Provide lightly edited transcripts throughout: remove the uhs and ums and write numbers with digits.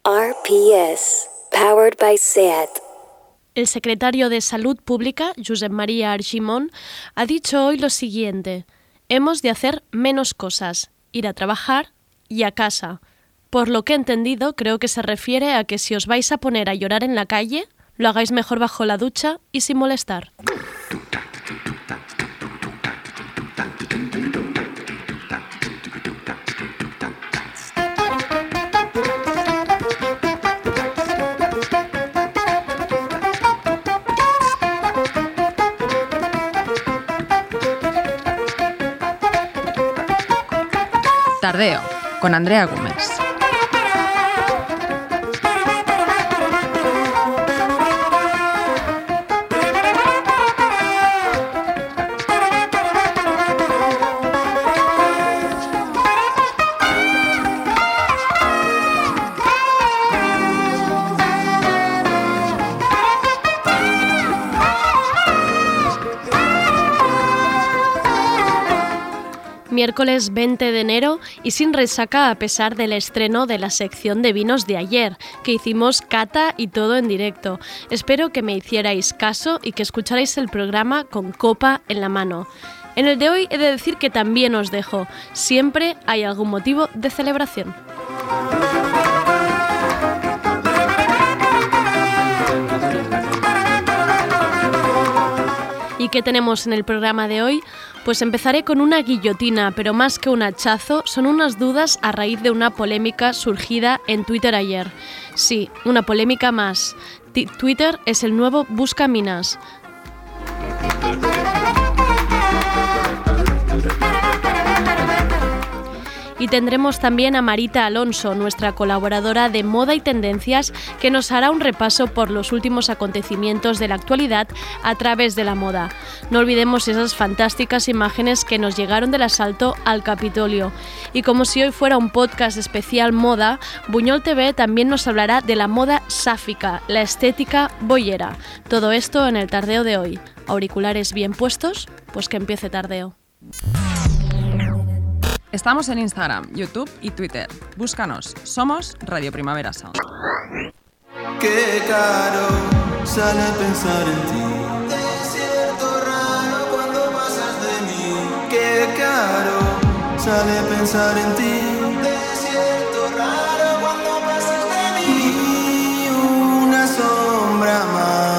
RPS, powered by SEAT. El secretario de Salud Pública, Josep María Argimon, ha dicho hoy lo siguiente: hemos de hacer menos cosas, ir a trabajar y a casa. Por lo que he entendido, creo que se refiere a que si os vais a poner a llorar en la calle, lo hagáis mejor bajo la ducha y sin molestar. Tardeo, con Andrea Gómez. Miércoles 20 de enero y sin resaca a pesar del estreno de la sección de vinos de ayer, que hicimos cata y todo en directo. Espero que me hicierais caso y que escucharais el programa con copa en la mano. En el de hoy he de decir que también os dejo. Siempre hay algún motivo de celebración. ¿Y qué tenemos en el programa de hoy? Pues empezaré con una guillotina, pero más que un hachazo, son unas dudas a raíz de una polémica surgida en Twitter ayer. Sí, una polémica más. Twitter es el nuevo Buscaminas. Y tendremos también a Marita Alonso, nuestra colaboradora de Moda y Tendencias, que nos hará un repaso por los últimos acontecimientos de la actualidad a través de la moda. No olvidemos esas fantásticas imágenes que nos llegaron del asalto al Capitolio. Y como si hoy fuera un podcast especial moda, Buñol TV también nos hablará de la moda sáfica, la estética boyera. Todo esto en el tardeo de hoy. ¿Auriculares bien puestos? Pues que empiece Tardeo. Estamos en Instagram, YouTube y Twitter. Búscanos. Somos Radio Primavera Sound. Qué caro sale pensar en ti. Desierto raro cuando pasas de mí. Qué caro sale pensar en ti. Desierto raro cuando pasas de mí. Y una sombra más.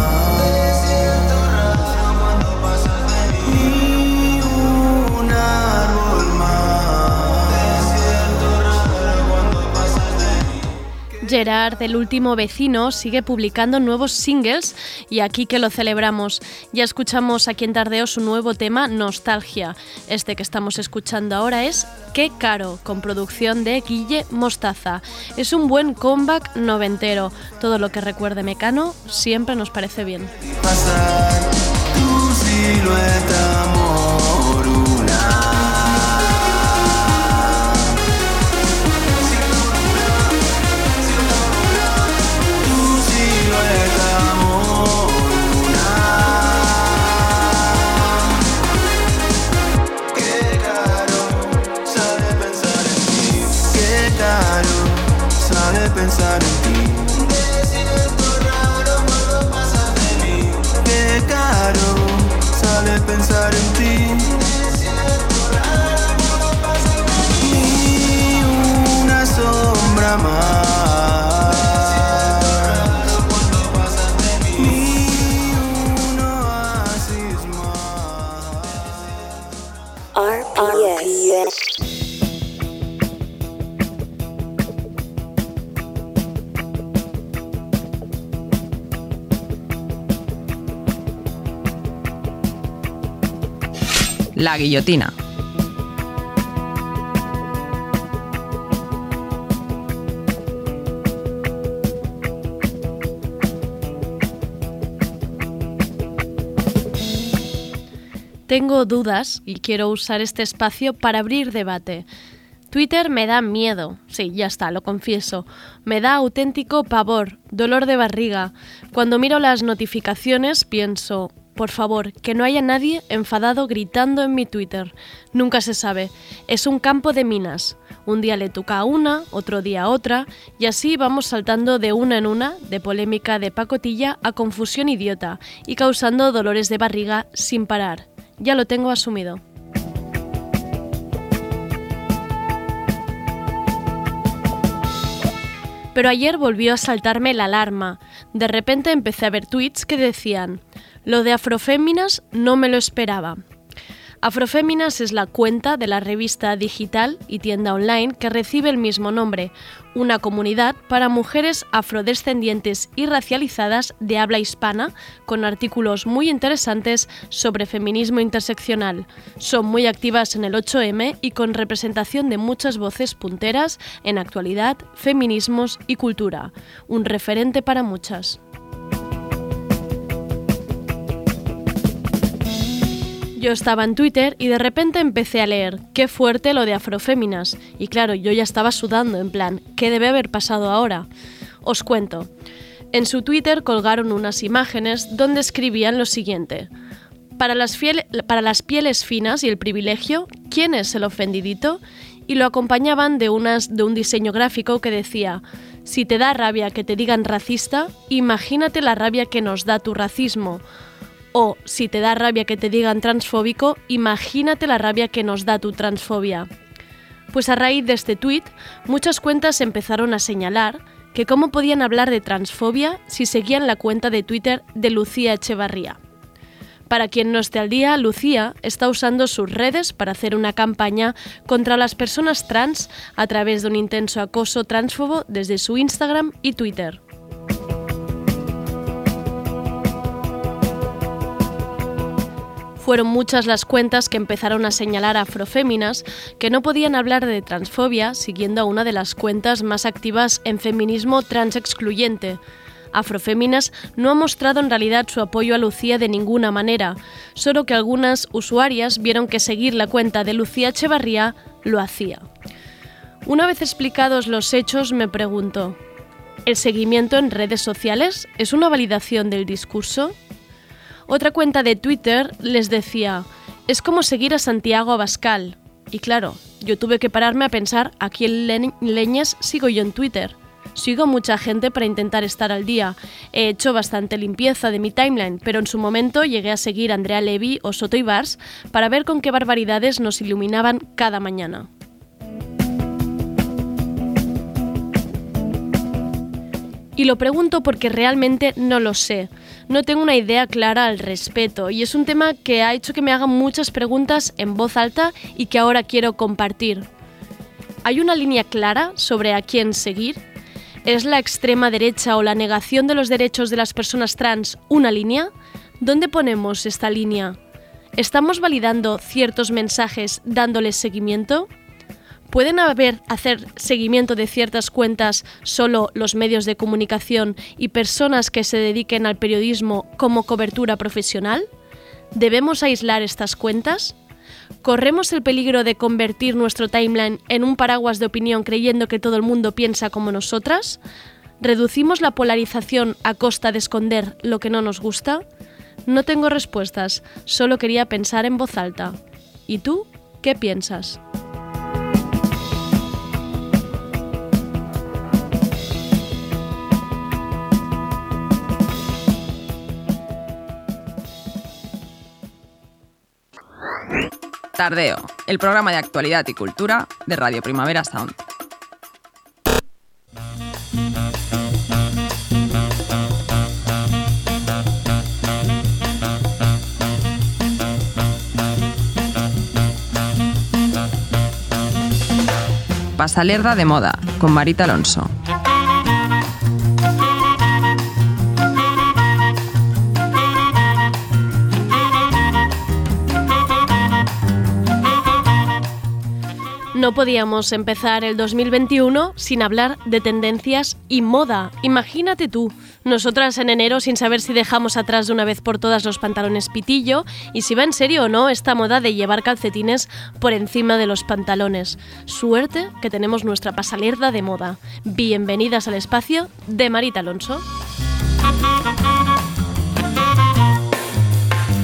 Gerard, el último vecino, sigue publicando nuevos singles y aquí que lo celebramos. Ya escuchamos aquí en Tardeo su nuevo tema, Nostalgia. Este que estamos escuchando ahora es Qué caro, con producción de Guille Mostaza. Es un buen comeback noventero. Todo lo que recuerde Mecano siempre nos parece bien. Pasar tu silueta moruna. Pensar en ti. Desierto raro cuando pasas de mí. Qué caro sale pensar en ti. Desierto raro cuando pasas de mí. Ni una sombra más. Desierto raro cuando pasas de mí. Ni un oasis más. RPS. La guillotina. Tengo dudas y quiero usar este espacio para abrir debate. Twitter me da miedo, sí, ya está, lo confieso. Me da auténtico pavor, dolor de barriga. Cuando miro las notificaciones pienso, por favor, que no haya nadie enfadado gritando en mi Twitter. Nunca se sabe. Es un campo de minas. Un día le toca a una, otro día a otra, y así vamos saltando de una en una, de polémica de pacotilla a confusión idiota, y causando dolores de barriga sin parar. Ya lo tengo asumido. Pero ayer volvió a saltarme la alarma. De repente empecé a ver tweets que decían: lo de Afroféminas no me lo esperaba. Afroféminas es la cuenta de la revista digital y tienda online que recibe el mismo nombre, una comunidad para mujeres afrodescendientes y racializadas de habla hispana, con artículos muy interesantes sobre feminismo interseccional. Son muy activas en el 8M y con representación de muchas voces punteras en actualidad, feminismos y cultura. Un referente para muchas. Yo estaba en Twitter y de repente empecé a leer qué fuerte lo de Afroféminas. Y claro, yo ya estaba sudando, en plan, ¿qué debe haber pasado ahora? Os cuento. En su Twitter colgaron unas imágenes donde escribían lo siguiente: para las pieles finas y el privilegio, ¿quién es el ofendidito? Y lo acompañaban de un diseño gráfico que decía: si te da rabia que te digan racista, imagínate la rabia que nos da tu racismo. O, si te da rabia que te digan transfóbico, imagínate la rabia que nos da tu transfobia. Pues a raíz de este tuit, muchas cuentas empezaron a señalar que cómo podían hablar de transfobia si seguían la cuenta de Twitter de Lucía Echevarría. Para quien no esté al día, Lucía está usando sus redes para hacer una campaña contra las personas trans a través de un intenso acoso transfobo desde su Instagram y Twitter. Fueron muchas las cuentas que empezaron a señalar a Afroféminas que no podían hablar de transfobia siguiendo a una de las cuentas más activas en feminismo transexcluyente. Afroféminas no ha mostrado en realidad su apoyo a Lucía de ninguna manera, solo que algunas usuarias vieron que seguir la cuenta de Lucía Echevarría lo hacía. Una vez explicados los hechos, me pregunto: ¿el seguimiento en redes sociales es una validación del discurso? Otra cuenta de Twitter les decía: es como seguir a Santiago Abascal. Y claro, yo tuve que pararme a pensar a quién leñes sigo yo en Twitter. Sigo mucha gente para intentar estar al día. He hecho bastante limpieza de mi timeline, pero en su momento llegué a seguir a Andrea Levy o Soto Ibars para ver con qué barbaridades nos iluminaban cada mañana. Y lo pregunto porque realmente no lo sé. No tengo una idea clara al respecto y es un tema que ha hecho que me hagan muchas preguntas en voz alta y que ahora quiero compartir. ¿Hay una línea clara sobre a quién seguir? ¿Es la extrema derecha o la negación de los derechos de las personas trans una línea? ¿Dónde ponemos esta línea? ¿Estamos validando ciertos mensajes dándoles seguimiento? ¿Pueden hacer seguimiento de ciertas cuentas solo los medios de comunicación y personas que se dediquen al periodismo como cobertura profesional? ¿Debemos aislar estas cuentas? ¿Corremos el peligro de convertir nuestro timeline en un paraguas de opinión creyendo que todo el mundo piensa como nosotras? ¿Reducimos la polarización a costa de esconder lo que no nos gusta? No tengo respuestas, solo quería pensar en voz alta. ¿Y tú qué piensas? Tardeo, el programa de actualidad y cultura de Radio Primavera Sound. Pasalerda de moda, con Marita Alonso. No podíamos empezar el 2021 sin hablar de tendencias y moda. Imagínate tú, nosotras en enero sin saber si dejamos atrás de una vez por todas los pantalones pitillo y si va en serio o no esta moda de llevar calcetines por encima de los pantalones. Suerte que tenemos nuestra pasalerda de moda. Bienvenidas al espacio de Marita Alonso.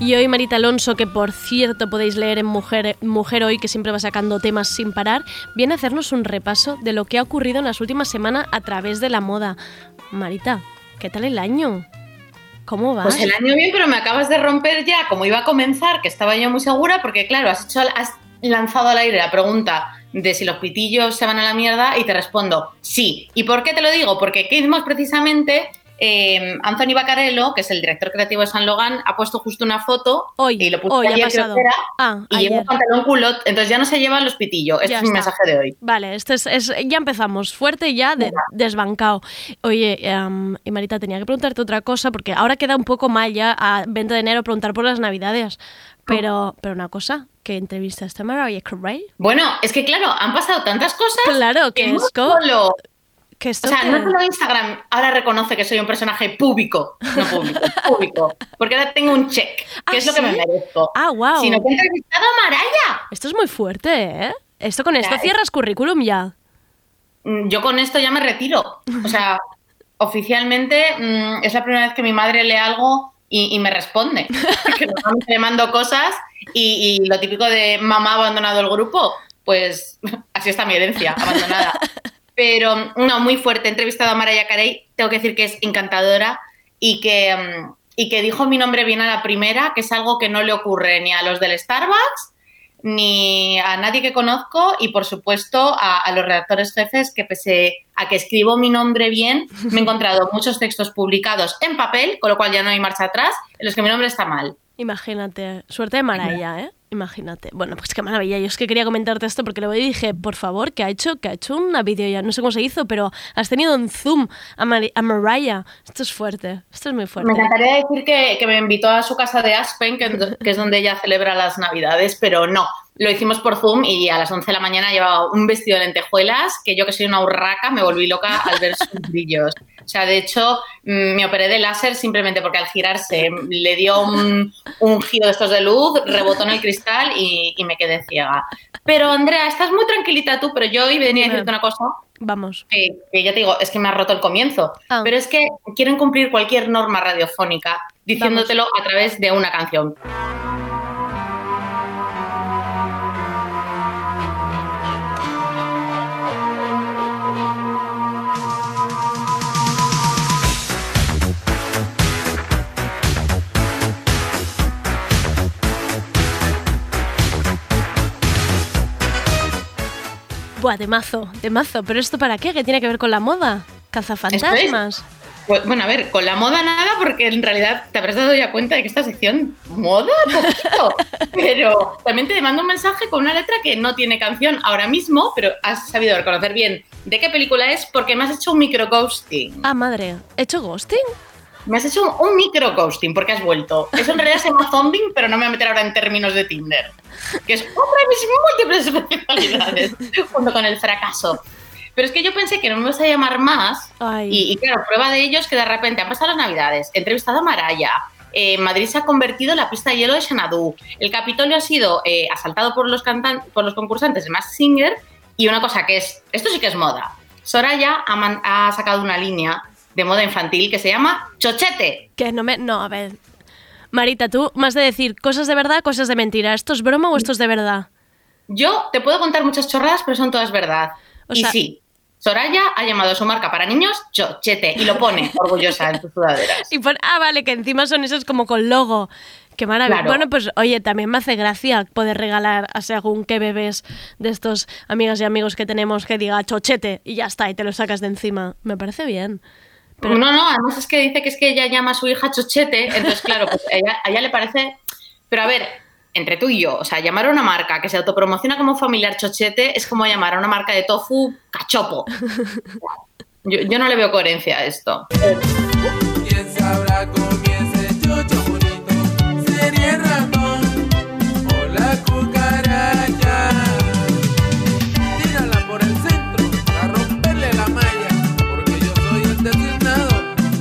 Y hoy Marita Alonso, que por cierto podéis leer en Mujer Hoy, que siempre va sacando temas sin parar, viene a hacernos un repaso de lo que ha ocurrido en las últimas semanas a través de la moda. Marita, ¿qué tal el año? ¿Cómo vas? Pues el año bien, pero me acabas de romper ya, como iba a comenzar, que estaba yo muy segura, porque claro, has lanzado al aire la pregunta de si los pitillos se van a la mierda y te respondo sí. ¿Y por qué te lo digo? Porque Kate Moss precisamente... Anthony Vaccarello, que es el director creativo de Saint Laurent, ha puesto justo una foto y lo puso ayer, creo que era, y lleva un pantalón culot, entonces ya no se llevan los pitillos. Este es mi mensaje de hoy. Vale, ya empezamos fuerte y ya desbancado. Oye, y Marita, tenía que preguntarte otra cosa, porque ahora queda un poco mal ya a 20 de enero preguntar por las Navidades. Pero una cosa, ¿qué entrevistaste a Mariah Carey? Bueno, es que claro, han pasado tantas cosas. Claro, que es solo... O sea, no solo Instagram ahora reconoce que soy un personaje público, porque ahora tengo un check, que es lo que me merezco. Wow. Sino que he entrevistado a Mariah. Esto es muy fuerte, ¿eh? Esto cierras currículum ya. Yo con esto ya me retiro. O sea, oficialmente es la primera vez que mi madre lee algo y me responde. Que normalmente le mando cosas y lo típico de mamá ha abandonado el grupo, pues así está mi herencia, abandonada. Pero no, muy fuerte. He entrevistado a Mariah Carey, tengo que decir que es encantadora y que dijo mi nombre bien a la primera, que es algo que no le ocurre ni a los del Starbucks, ni a nadie que conozco y, por supuesto, a los redactores jefes, que pese a que escribo mi nombre bien, me he encontrado muchos textos publicados en papel, con lo cual ya no hay marcha atrás, en los que mi nombre está mal. Imagínate, suerte de Mariah, ¿eh? Imagínate. Bueno, pues qué maravilla. Yo es que quería comentarte esto porque luego dije, por favor, ¿qué ha hecho una vídeo ya? No sé cómo se hizo, pero has tenido en Zoom a Mariah. Esto es fuerte, esto es muy fuerte. Me encantaría decir que me invitó a su casa de Aspen, que es donde ella celebra las Navidades, pero no. Lo hicimos por Zoom y a las 11 de la mañana llevaba un vestido de lentejuelas que yo, que soy una urraca, me volví loca al ver sus brillos. O sea, de hecho, me operé de láser simplemente porque al girarse le dio un giro de estos de luz, rebotó en el cristal y me quedé ciega. Pero, Andrea, estás muy tranquilita tú, pero yo hoy venía a decirte una cosa. Vamos. Que ya te digo, es que me ha roto el comienzo. Pero es que quieren cumplir cualquier norma radiofónica diciéndotelo a través de una canción. Buah, de mazo. ¿Pero esto para qué? ¿Qué tiene que ver con la moda? ¿Cazafantasmas? Pues, bueno, a ver, con la moda nada, porque en realidad te habrás dado ya cuenta de que esta sección moda poquito. Pero también te mando un mensaje con una letra que no tiene canción ahora mismo, pero has sabido reconocer bien de qué película es porque me has hecho un micro ghosting. Ah, madre, ¿he hecho ghosting? Me has hecho un micro ghosting porque has vuelto. Eso en realidad se llama zombing, pero no me voy a meter ahora en términos de Tinder, que es otra de mis múltiples especialidades, junto con el fracaso. Pero es que yo pensé que no me ibas a llamar más y claro, prueba de ello es que de repente han pasado las Navidades, he entrevistado a Mariah, Madrid se ha convertido en la pista de hielo de Xanadu, el Capitolio ha sido asaltado por los concursantes de Masked Singer y una cosa que es, esto sí que es moda, Soraya ha sacado una línea de moda infantil que se llama Chochete. Que no, a ver, Marita, tú más de decir cosas de verdad, cosas de mentira, ¿esto es broma o esto es de verdad? Yo te puedo contar muchas chorradas, pero son todas verdad. Y sí, Soraya ha llamado a su marca para niños Chochete y lo pone orgullosa en sus sudaderas. Vale, que encima son esos como con logo. Qué maravilla. Claro. Bueno, pues oye, también me hace gracia poder regalar a según qué bebés de estos amigas y amigos que tenemos que diga Chochete y ya está, y te lo sacas de encima. Me parece bien. Pero... No, además es que dice que ella llama a su hija Chochete, entonces claro, pues a ella le parece... Pero a ver, entre tú y yo, o sea, llamar a una marca que se autopromociona como familiar Chochete es como llamar a una marca de tofu Cachopo. Yo no le veo coherencia a esto. ¿Quién sabrá comienza el chocho bonito? ¿Sería el ratón o la cucaracha? Tírala por el centro para romperle la malla, porque yo soy el designado.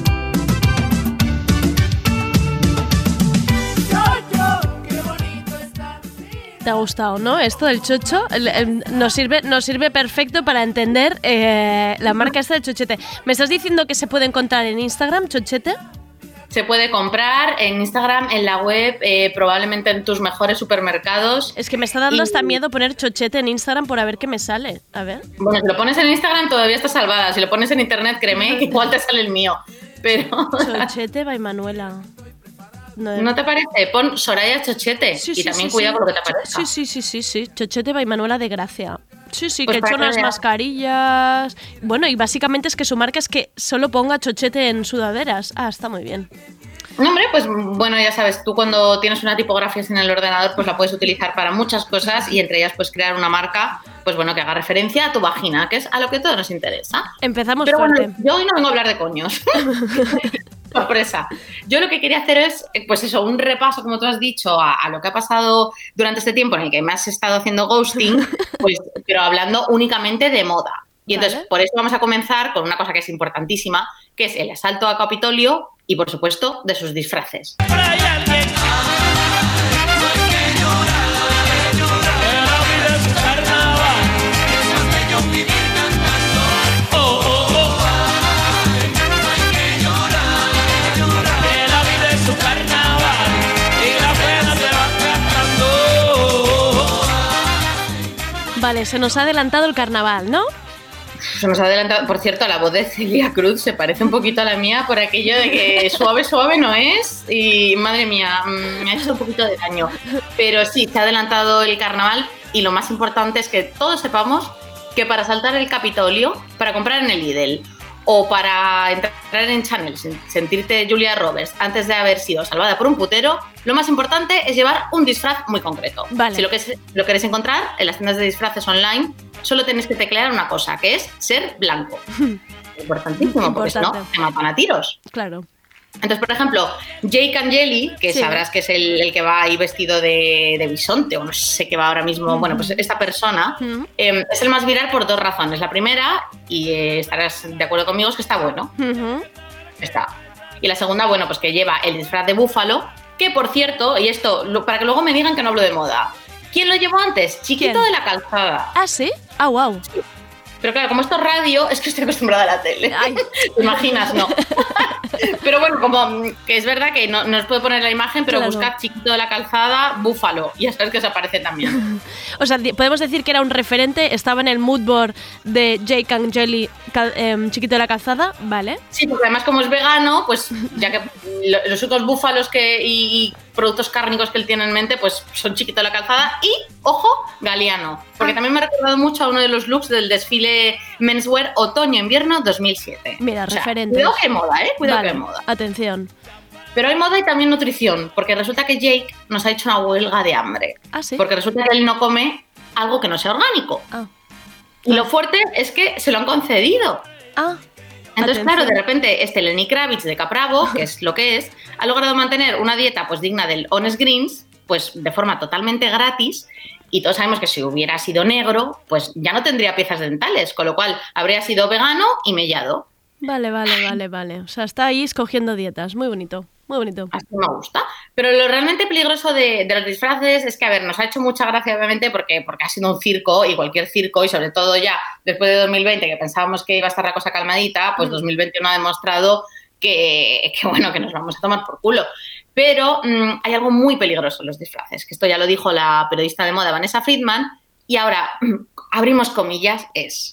Chocho, qué bonito está. ¿Te ha gustado, no? Esto del chocho nos sirve perfecto para entender la marca esta de Chochete. ¿Me estás diciendo que se puede encontrar en Instagram, Chochete? se puede comprar en Instagram, en la web, probablemente en tus mejores supermercados. Es que me está dando hasta miedo poner chochete en Instagram por a ver qué me sale. A ver. Bueno, si lo pones en Instagram todavía está salvada. Si lo pones en internet, créeme que igual te sale el mío. Pero... Chochete by Manuela. ¿No te parece? Pon Soraya Chochete y también cuidado con lo que te parezca. Sí. Chochete by Manuela de Gracia. Sí, Pues que he hecho unas veas. mascarillas. Bueno, y básicamente es que su marca es que solo ponga chochete en sudaderas. Ah, está muy bien. No, hombre, pues bueno, ya sabes, tú cuando tienes una tipografía en el ordenador, pues la puedes utilizar para muchas cosas y entre ellas pues crear una marca, pues bueno, que haga referencia a tu vagina, que es a lo que todo nos interesa. Empezamos Pero fuerte. bueno, yo hoy no vengo a hablar de coños. Sorpresa. Yo lo que quería hacer es, pues eso, un repaso, como tú has dicho, a lo que ha pasado durante este tiempo en el que me has estado haciendo ghosting, pues, pero hablando únicamente de moda. Y entonces, Vale. por eso vamos a comenzar con una cosa que es importantísima, que es el asalto a Capitolio y, por supuesto, de sus disfraces. Vale, se nos ha adelantado el carnaval, ¿no? Se nos ha adelantado, por cierto, la voz de Celia Cruz se parece un poquito a la mía por aquello de que suave, suave no es y madre mía, me ha hecho un poquito de daño. Pero sí, se ha adelantado el carnaval y lo más importante es que todos sepamos que para saltar el Capitolio, para comprar en el Lidl o para entrar en Chanel, sentirte Julia Roberts antes de haber sido salvada por un putero, lo más importante es llevar un disfraz muy concreto. Vale. Si lo queréis encontrar en las tiendas de disfraces online, solo tenéis que teclear una cosa, que es ser blanco. Importantísimo, porque si no, Importante. te matan a tiros. Claro. Entonces, por ejemplo, Jake Angeli, que Sí. sabrás que es el que va ahí vestido de bisonte, o no sé qué va ahora mismo, bueno, pues esta persona Ujú. es el más viral por dos razones. La primera, y estarás de acuerdo conmigo, es que está bueno. Ujú. Está. Y la segunda, bueno, pues que lleva el disfraz de búfalo, que por cierto, y esto, para que luego me digan que no hablo de moda, ¿quién lo llevó antes? Chiquito ¿Quién? de la Calzada. Ah, ¿sí? Ah, wow. Pero claro, como esto es radio, es que estoy acostumbrada a la tele. Ay. ¿Te imaginas? No. Pero bueno, como que es verdad que no os puedo poner la imagen, pero Claro. buscad Chiquito de la Calzada, búfalo, y ya sabes que os aparece también. O sea, podemos decir que era un referente, estaba en el mood board de Jake Angeli, Chiquito de la Calzada, ¿vale? Sí, porque además como es vegano, pues ya que los otros búfalos y productos cárnicos que él tiene en mente, pues son Chiquito de la Calzada y, ojo, Galeano. Porque también me ha recordado mucho a uno de los looks del desfile Menswear Otoño-Invierno 2007. Mira, O sea, referentes. Cuidado que hay moda, Cuidado Vale, que hay moda. atención. Pero hay moda y también nutrición, porque resulta que Jake nos ha hecho una huelga de hambre. Ah, sí. Porque resulta que él no come algo que no sea orgánico. Ah, Y lo fuerte es que se lo han concedido. ah. Entonces, Atención. claro, de repente Lenny Kravitz de Capravo, que es lo que es, ha logrado mantener una dieta pues digna del Honest Greens, pues de forma totalmente gratis. Y todos sabemos que si hubiera sido negro, pues ya no tendría piezas dentales, con lo cual habría sido vegano y mellado. Vale. O sea, está ahí escogiendo dietas. Muy bonito, muy bonito. Así me gusta. Pero lo realmente peligroso de los disfraces es que, a ver, nos ha hecho mucha gracia, obviamente, porque ha sido un circo, y cualquier circo, y sobre todo ya después de 2020, que pensábamos que iba a estar la cosa calmadita, pues 2021 ha demostrado que bueno, que nos vamos a tomar por culo. Pero hay algo muy peligroso en los disfraces, que esto ya lo dijo la periodista de moda Vanessa Friedman, y ahora, abrimos comillas, es...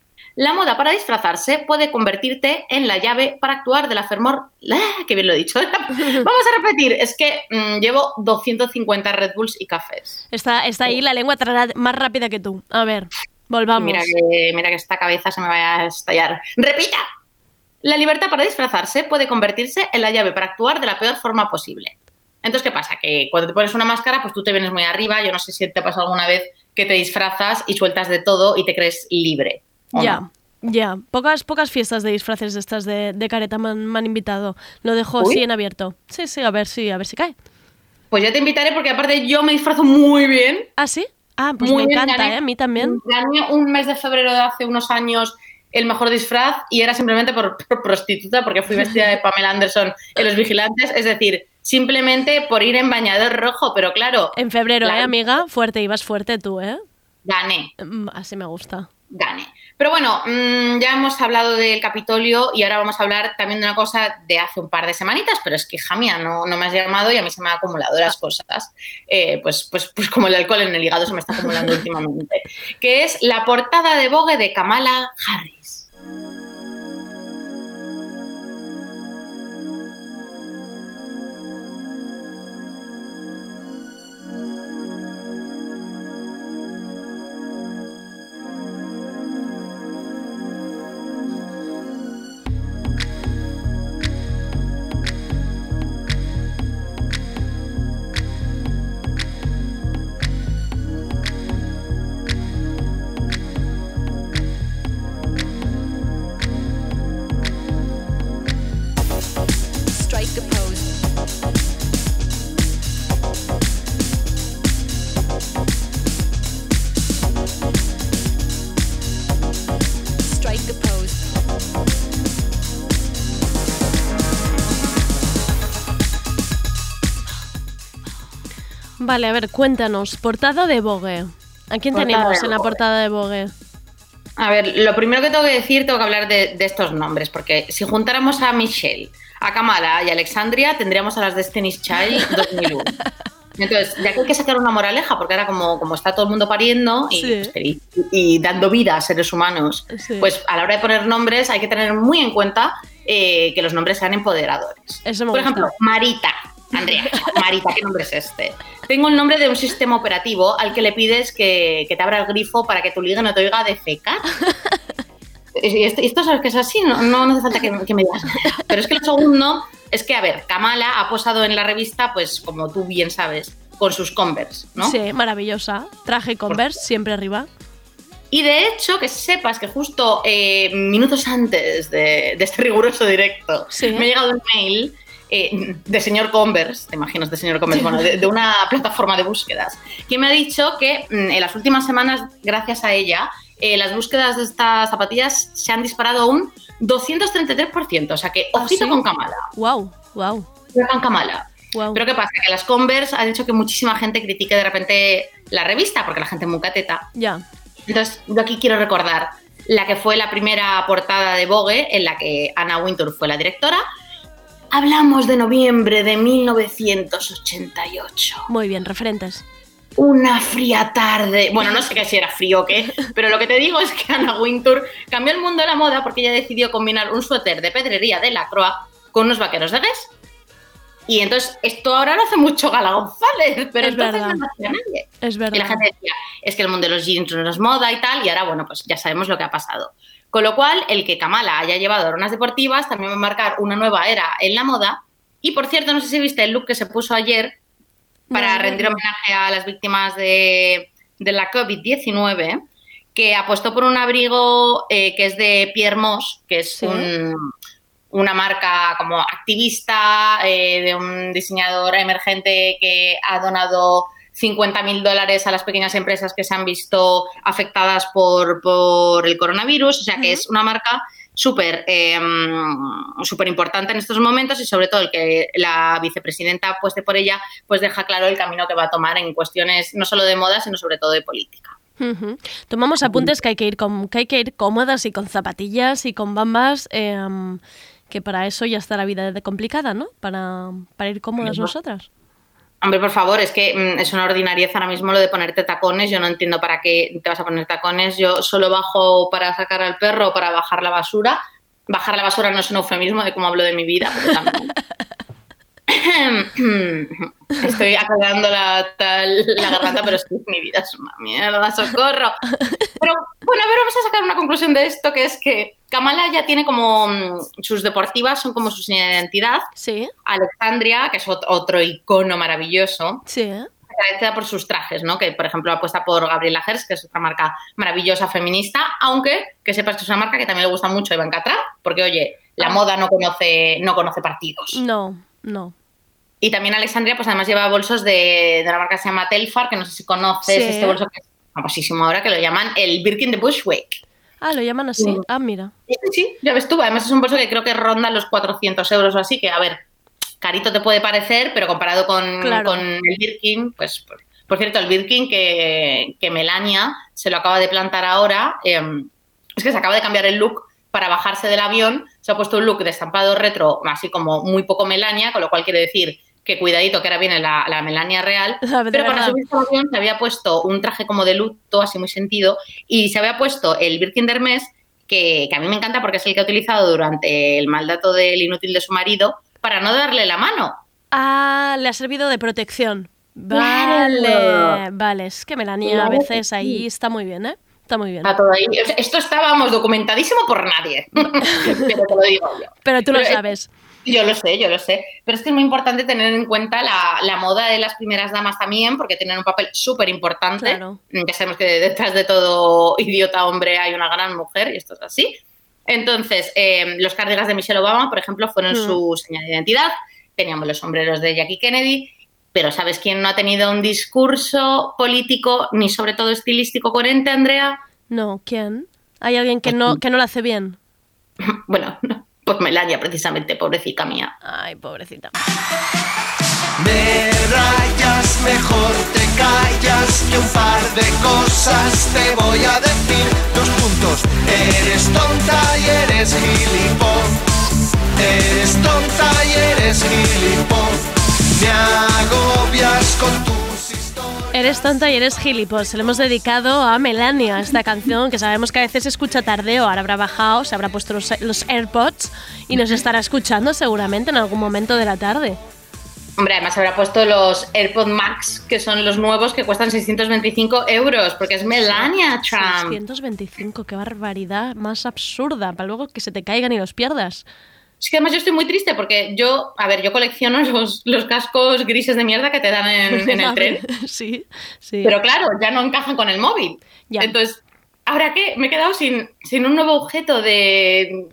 La moda para disfrazarse puede convertirte en la llave para actuar de la fervor... ¡Qué bien lo he dicho! Vamos a repetir. Es que llevo 250 Red Bulls y cafés. Está ahí la lengua más rápida que tú. A ver, volvamos. Mira que esta cabeza se me va a estallar. ¡Repita! La libertad para disfrazarse puede convertirse en la llave para actuar de la peor forma posible. Entonces, ¿qué pasa? Que cuando te pones una máscara, pues tú te vienes muy arriba. Yo no sé si te pasa alguna vez que te disfrazas y sueltas de todo y te crees libre. Ya. Pocas fiestas de disfraces de estas de careta me han invitado. Lo dejo Uy. así en abierto. Sí, a ver si cae. Pues yo te invitaré porque aparte yo me disfrazo muy bien. ¿Ah, sí? Ah, pues Muy me bien, encanta, gané. A mí también. Gané un mes de febrero de hace unos años el mejor disfraz y era simplemente por prostituta porque fui vestida de Pamela Anderson en Los Vigilantes. Es decir, simplemente por ir en bañador rojo, pero claro, En febrero, claro. amiga? Fuerte, ibas fuerte tú, ¿eh? gané. Así me gusta. Gané. Pero bueno, ya hemos hablado del Capitolio y ahora vamos a hablar también de una cosa de hace un par de semanitas, pero es que, hija mía, no me has llamado y a mí se me han acumulado las cosas. Pues como el alcohol en el hígado se me está acumulando últimamente. Que es la portada de Vogue de Kamala Harris. Vale, a ver, cuéntanos. Portada de Vogue. ¿A quién tenemos en la portada de Vogue? A ver, lo primero que tengo que hablar de estos nombres, porque si juntáramos a Michelle, a Kamala y a Alexandria, tendríamos a las Destiny's Child 2001. Entonces, ya que hay que sacar una moraleja, porque ahora como está todo el mundo pariendo y dando vida a seres humanos, pues a la hora de poner nombres hay que tener muy en cuenta que los nombres sean empoderadores. Por ejemplo, Marita. Andrea, Marita, ¿qué nombre es este? Tengo el nombre de un sistema operativo al que le pides que te abra el grifo para que tu liga no te oiga defecar. Esto sabes que es así, no hace falta que me digas nada. Pero es que lo segundo es que, a ver, Kamala ha posado en la revista, pues como tú bien sabes, con sus Converse, ¿no? Sí, maravillosa. Traje Converse, siempre arriba. Y de hecho, que sepas que justo minutos antes de este riguroso directo me ha llegado un mail de señor Converse, te imaginas de señor Converse, bueno, de una plataforma de búsquedas, que me ha dicho que en las últimas semanas, gracias a ella, las búsquedas de estas zapatillas se han disparado un 233%, o sea que ojito con Kamala. Wow. Con Kamala. Wow. Pero ¿qué pasa? Que las Converse han hecho que muchísima gente critique de repente la revista, porque la gente es muy cateta. Ya. Entonces, yo aquí quiero recordar la que fue la primera portada de Vogue, en la que Anna Wintour fue la directora. Hablamos de noviembre de 1988. Muy bien, referentes. Una fría tarde. Bueno, no sé qué si era frío o qué, pero lo que te digo es que Anna Wintour cambió el mundo de la moda porque ella decidió combinar un suéter de pedrería de Lacroix con unos vaqueros de Guess. Y entonces, esto ahora lo hace mucho Gala González, pero entonces no lo hacía nadie. Es verdad. Y la gente decía, es que el mundo de los jeans no es moda y tal, y ahora, bueno, pues ya sabemos lo que ha pasado. Con lo cual, el que Kamala haya llevado aronas deportivas también va a marcar una nueva era en la moda. Y, por cierto, no sé si viste el look que se puso ayer para rendir homenaje a las víctimas de la COVID-19, que apostó por un abrigo que es de Pierre Moss, que es una marca como activista de un diseñador emergente que ha donado $50.000 a las pequeñas empresas que se han visto afectadas por el coronavirus. O sea que es una marca súper importante en estos momentos y sobre todo el que la vicepresidenta apueste por ella, pues deja claro el camino que va a tomar en cuestiones no solo de moda, sino sobre todo de política. Tomamos apuntes que hay que ir cómodas y con zapatillas y con bambas, que para eso ya está la vida de complicada, ¿no? Para ir cómodas nosotras. Hombre, por favor, es que es una ordinariez ahora mismo lo de ponerte tacones. Yo no entiendo para qué te vas a poner tacones. Yo solo bajo para sacar al perro o para bajar la basura. Bajar la basura no es un eufemismo de cómo hablo de mi vida, pero también. Estoy aclarando la garganta, pero es que mi vida es una mierda, socorro. Pero bueno, a ver, vamos a sacar una conclusión de esto, que es que Kamala ya tiene como sus deportivas, son como su señal de identidad. Sí. Alexandria, que es otro icono maravilloso. Sí. Caracterizada por sus trajes, ¿no? Que, por ejemplo, apuesta por Gabriela Hearst, que es otra marca maravillosa feminista, aunque que sepas que es una marca que también le gusta mucho a Ivanka Trump, porque, oye, la moda no conoce partidos. No. Y también Alexandria, pues además lleva bolsos de una marca que se llama Telfar, que no sé si conoces, este bolso que es famosísimo ahora, que lo llaman el Birkin de Bushwick. Ah, ¿lo llaman así? Ah, mira. Sí, ya ves tú. Además es un bolso que creo que ronda los 400 euros o así, que, a ver, carito te puede parecer, pero comparado con el Birkin, pues... Por cierto, el Birkin que Melania se lo acaba de plantar ahora, es que se acaba de cambiar el look para bajarse del avión, se ha puesto un look de estampado retro, así como muy poco Melania, con lo cual quiere decir que cuidadito, que ahora viene la Melania real, pero para subirse al avión se había puesto un traje como de luto, así muy sentido, y se había puesto el Birkin d'Hermès, que a mí me encanta porque es el que ha utilizado durante el mal dato del inútil de su marido, para no darle la mano. Ah, le ha servido de protección. Vale, Claro. vale, es que Melania a veces ahí está muy bien, ¿eh? Está muy bien. Está todo ahí. Esto estábamos documentadísimo por nadie, pero te lo digo yo. Pero tú lo sabes. Yo lo sé. Pero es que es muy importante tener en cuenta la moda de las primeras damas también, porque tienen un papel súper importante. Claro. Ya sabemos que detrás de todo idiota hombre hay una gran mujer, y esto es así. Entonces, los cardigans de Michelle Obama, por ejemplo, fueron su señal de identidad. Teníamos los sombreros de Jackie Kennedy. Pero ¿sabes quién no ha tenido un discurso político ni sobre todo estilístico coherente, Andrea? No, ¿quién? ¿Hay alguien que no lo hace bien? Bueno, pues Melania, precisamente, pobrecita mía. Ay, pobrecita. Me rayas, mejor te callas, que un par de cosas te voy a decir. 2 puntos, eres tonta y eres gilipón. Eres tonta y eres gilipón. Me agobias con tus historias. Eres tonta y eres gilipollas. Se lo hemos dedicado a Melania, esta canción, que sabemos que a veces se escucha tardeo. Ahora habrá bajado, se habrá puesto los AirPods y nos estará escuchando seguramente en algún momento de la tarde. Hombre, además habrá puesto los AirPod Max, que son los nuevos, que cuestan 625 €, porque es Melania Trump. 625, qué barbaridad más absurda, para luego que se te caigan y los pierdas. Es que además yo estoy muy triste porque yo colecciono los cascos grises de mierda que te dan en el tren. Sí. Pero claro, ya no encajan con el móvil. Ya. Entonces, ¿ahora qué? Me he quedado sin un nuevo objeto de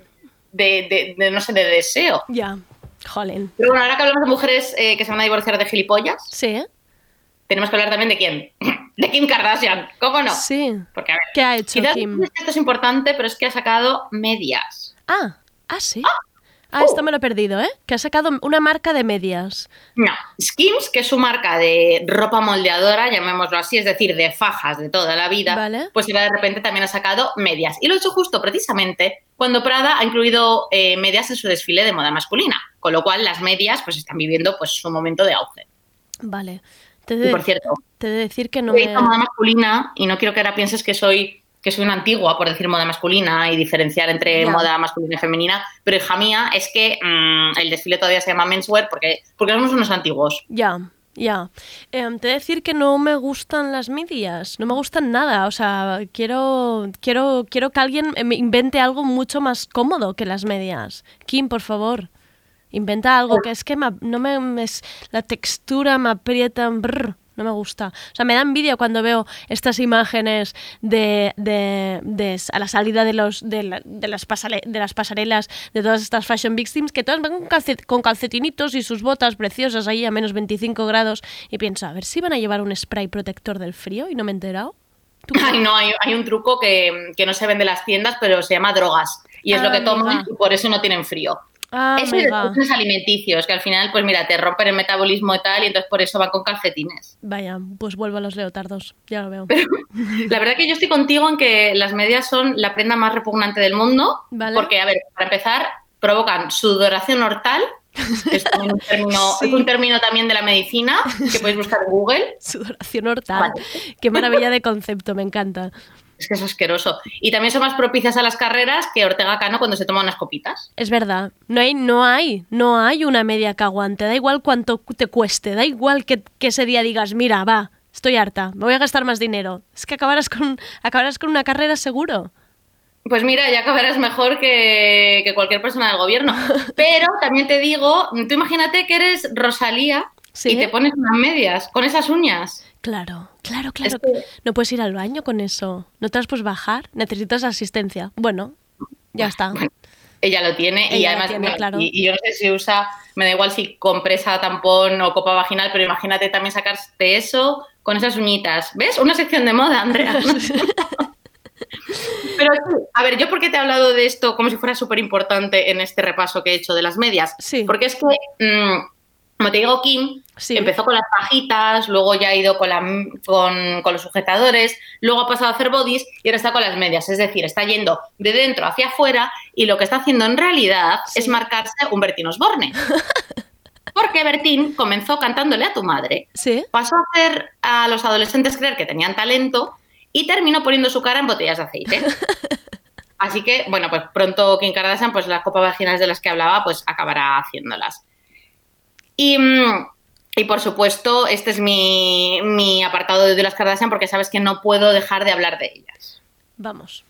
no sé, de deseo. Ya, jolín. Pero bueno, ahora que hablamos de mujeres que se van a divorciar de gilipollas, Sí, tenemos que hablar también de quién. De Kim Kardashian, ¿cómo no? sí. Porque, a ver, ¿Qué ha hecho quizás Kim? esto es importante, pero es que ha sacado medias. Sí. Esto me lo he perdido, ¿eh? Que ha sacado una marca de medias. No, Skims, que es su marca de ropa moldeadora, llamémoslo así, es decir, de fajas de toda la vida, Vale. pues ahora de repente también ha sacado medias. Y lo ha hecho justo precisamente cuando Prada ha incluido medias en su desfile de moda masculina, con lo cual las medias pues están viviendo pues su momento de auge. Vale. Y por cierto, te he de decir que no he dicho moda masculina y no quiero que ahora pienses que soy una antigua por decir moda masculina y diferenciar entre moda masculina y femenina, pero hija mía, es que el desfile todavía se llama menswear porque somos unos antiguos. Ya. Te he de decir que no me gustan las medias, no me gustan nada, o sea, quiero que alguien me invente algo mucho más cómodo que las medias. Kim, por favor, inventa algo que es que la textura me aprieta, no me gusta. O sea, me da envidia cuando veo estas imágenes a la salida de las pasarelas de todas estas fashion victims, que todas van con calcetinitos y sus botas preciosas ahí a menos 25 grados y pienso, a ver si van a llevar un spray protector del frío y no me he enterado. Ay, no, hay un truco que no se vende en las tiendas, pero se llama drogas y es lo que toman y por eso no tienen frío. Eso es los alimenticios, que al final, pues mira, te rompen el metabolismo y tal, y entonces por eso van con calcetines. Vaya, pues vuelvo a los leotardos, ya lo veo. Pero la verdad que yo estoy contigo en que las medias son la prenda más repugnante del mundo, ¿vale? Porque, a ver, para empezar, provocan sudoración hortal, que es un término también de la medicina, que podéis buscar en Google. Sudoración hortal, qué maravilla de concepto, me encanta. Es que es asqueroso. Y también son más propicias a las carreras que Ortega Cano cuando se toma unas copitas. Es verdad. No hay una media que aguante. Da igual cuánto te cueste. Da igual que ese día digas, mira, va, estoy harta, me voy a gastar más dinero. Es que acabarás con una carrera seguro. Pues mira, ya acabarás mejor que cualquier persona del gobierno. Pero también te digo, tú imagínate que eres Rosalía y te pones unas medias con esas uñas. Claro. Es que... No puedes ir al baño con eso. No te las puedes bajar. Necesitas asistencia. Bueno, ya está. Bueno, ella lo tiene y además claro. y yo no sé si usa, me da igual si compresa, tampón o copa vaginal, pero imagínate también sacarte eso con esas uñitas. ¿Ves? Una sección de moda, Andrea. Pero, a ver, ¿yo por qué te he hablado de esto como si fuera súper importante en este repaso que he hecho de las medias? Sí. Porque es que Como te digo, Kim Sí. empezó con las fajitas, luego ya ha ido con los sujetadores, luego ha pasado a hacer bodys y ahora está con las medias. Es decir, está yendo de dentro hacia afuera y lo que está haciendo en realidad es marcarse un Bertín Osborne. Porque Bertín comenzó cantándole a tu madre, Sí. pasó a hacer a los adolescentes creer que tenían talento y terminó poniendo su cara en botellas de aceite. Así que, bueno, pues pronto Kim Kardashian, pues las copas vaginales de las que hablaba, pues acabará haciéndolas. Y por supuesto, este es mi apartado de las Kardashian porque sabes que no puedo dejar de hablar de ellas. Vamos.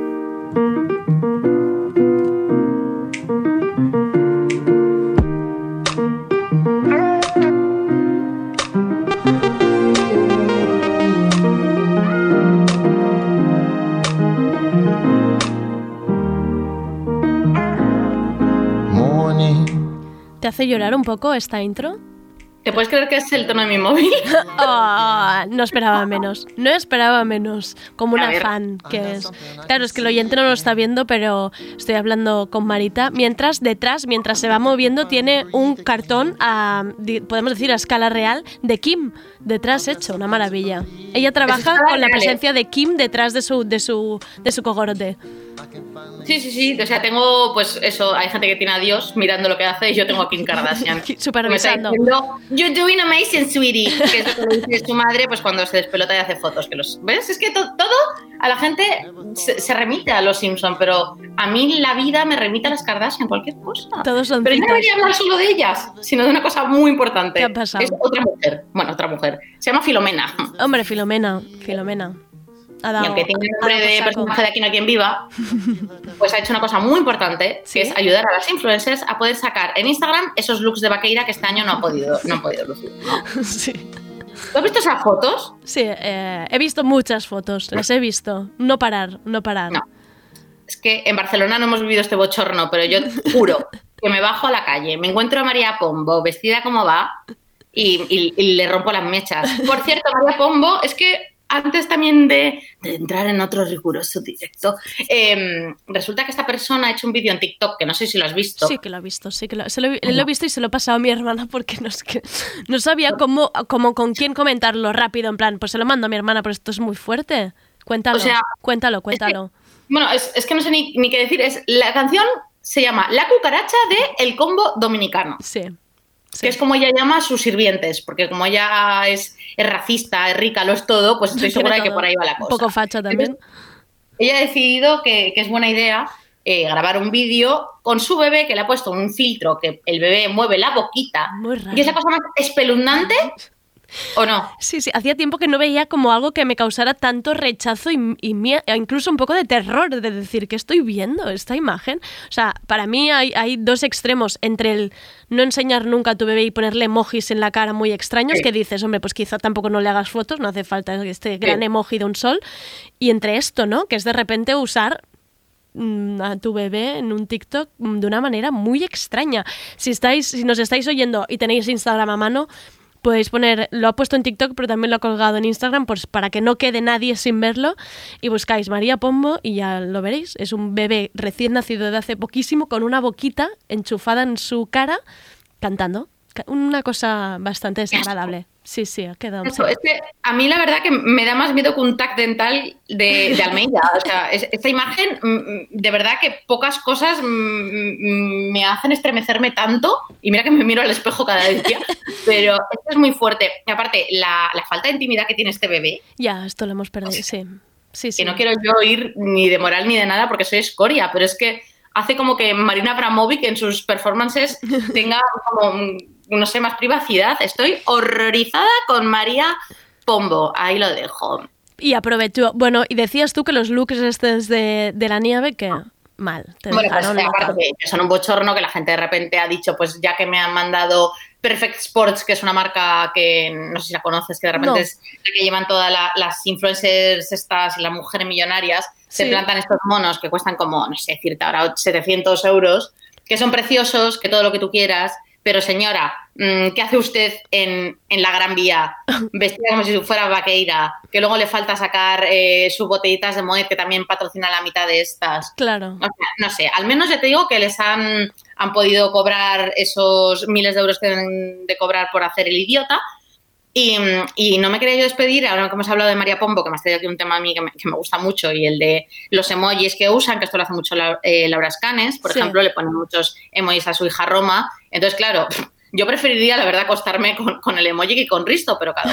¿Te hace llorar un poco esta intro? ¿Te puedes creer que es el tono de mi móvil? Oh, no esperaba menos. No esperaba menos. Como A una ver. fan que es. Claro, es que el oyente no lo está viendo, pero estoy hablando con Marita. Mientras detrás, mientras se va moviendo, tiene un cartón, podemos decir a escala real, de Kim detrás hecho. Una maravilla. Ella trabaja escala con la real, presencia de Kim detrás de su cogorote. Sí. O sea, tengo, pues eso, hay gente que tiene a Dios mirando lo que hace y yo tengo a Kim Kardashian. Supervisando. Me está diciendo, "You're doing amazing, sweetie", que es lo que le dice su madre pues cuando se despelota y hace fotos. ¿Ves? Es que todo a la gente se remite a los Simpson, pero a mí la vida me remite a las Kardashian, cualquier cosa. Todos son Pero yo no citas. debería hablar solo de ellas, sino de una cosa muy importante. ¿Qué ha pasado? Es otra mujer. Bueno, otra mujer. Se llama Filomena. Hombre, Filomena. Ha dado, Y aunque tiene el ha dado nombre de por saco. personaje de Aquí no hay quien viva, pues ha hecho una cosa muy importante, ¿Sí? que es ayudar a las influencers a poder sacar en Instagram esos looks de vaqueira que este año no han podido lucir. ¿No? Sí. ¿Tú has visto esas fotos? Sí, he visto muchas fotos, las he visto. No parar. No. Es que en Barcelona no hemos vivido este bochorno, pero yo juro que me bajo a la calle, me encuentro a María Pombo vestida como va y le rompo las mechas. Por cierto, María Pombo, es que antes también de entrar en otro riguroso directo, resulta que esta persona ha hecho un vídeo en TikTok, que no sé si lo has visto. Sí que lo he visto, lo he visto y se lo he pasado a mi hermana porque no sabía cómo con quién comentarlo rápido, en plan, pues se lo mando a mi hermana, pero esto es muy fuerte. Cuéntalo, O sea, cuéntalo. Bueno, es que no sé ni qué decir. La canción se llama La cucaracha de El Combo Dominicano. Sí. Que es como ella llama a sus sirvientes, porque como ella es racista, es rica, lo es todo, pues estoy segura de que por ahí va la cosa. Un poco facha también. Entonces, ella ha decidido que es buena idea grabar un vídeo con su bebé, que le ha puesto un filtro que el bebé mueve la boquita. Muy raro. Y es la cosa más espeluznante, ¿o no? Sí, hacía tiempo que no veía como algo que me causara tanto rechazo y incluso un poco de terror de decir que estoy viendo esta imagen. O sea, para mí hay dos extremos entre el no enseñar nunca a tu bebé y ponerle emojis en la cara muy extraños, Sí. que dices, hombre, pues quizá tampoco no le hagas fotos, no hace falta este gran emoji de un sol, y entre esto, ¿no? Que es de repente usar a tu bebé en un TikTok de una manera muy extraña. Si nos estáis oyendo y tenéis Instagram a mano, podéis poner, lo ha puesto en TikTok, pero también lo ha colgado en Instagram, pues para que no quede nadie sin verlo, y buscáis María Pombo y ya lo veréis. Es un bebé recién nacido de hace poquísimo con una boquita enchufada en su cara cantando. Una cosa bastante desagradable. Sí, ha quedado. Eso, es que a mí la verdad que me da más miedo que un tac dental de Almeida. O sea, esta imagen, de verdad que pocas cosas me hacen estremecerme tanto. Y mira que me miro al espejo cada día. Pero esto es muy fuerte. Y aparte, la falta de intimidad que tiene este bebé, Ya, esto lo hemos perdido, sí. que no quiero yo ir ni de moral ni de nada porque soy escoria, pero es que hace como que Marina Abramovic en sus performances tenga como, no sé, más privacidad. Estoy horrorizada con María Pombo. Ahí lo dejo. Y aprovechó. Bueno, y decías tú que los looks estos de la nieve, que mal. Te Bueno, pues dejaron aparte loca. que son un bochorno, que la gente de repente ha dicho, pues ya que me han mandado Perfect Sports, que es una marca que no sé si la conoces, que de repente No. es la que llevan todas las influencers estas y las mujeres millonarias, se Sí. plantan estos monos que cuestan como, no sé decirte ahora, 700 euros, que son preciosos, que todo lo que tú quieras, pero señora, ¿qué hace usted en la Gran Vía? Vestida como si fuera vaqueira, que luego le falta sacar sus botellitas de Moet, que también patrocina la mitad de estas. Claro. O sea, no sé, al menos ya te digo que les han podido cobrar esos miles de euros que deben de cobrar por hacer el idiota. Y no me quería yo despedir, ahora que hemos hablado de María Pombo, que me has traído aquí un tema a mí que me gusta mucho, y el de los emojis que usan, que esto lo hace mucho Laura Escanes, por ejemplo, le ponen muchos emojis a su hija Roma. Entonces, claro, yo preferiría, la verdad, acostarme con el emoji que con Risto, pero claro.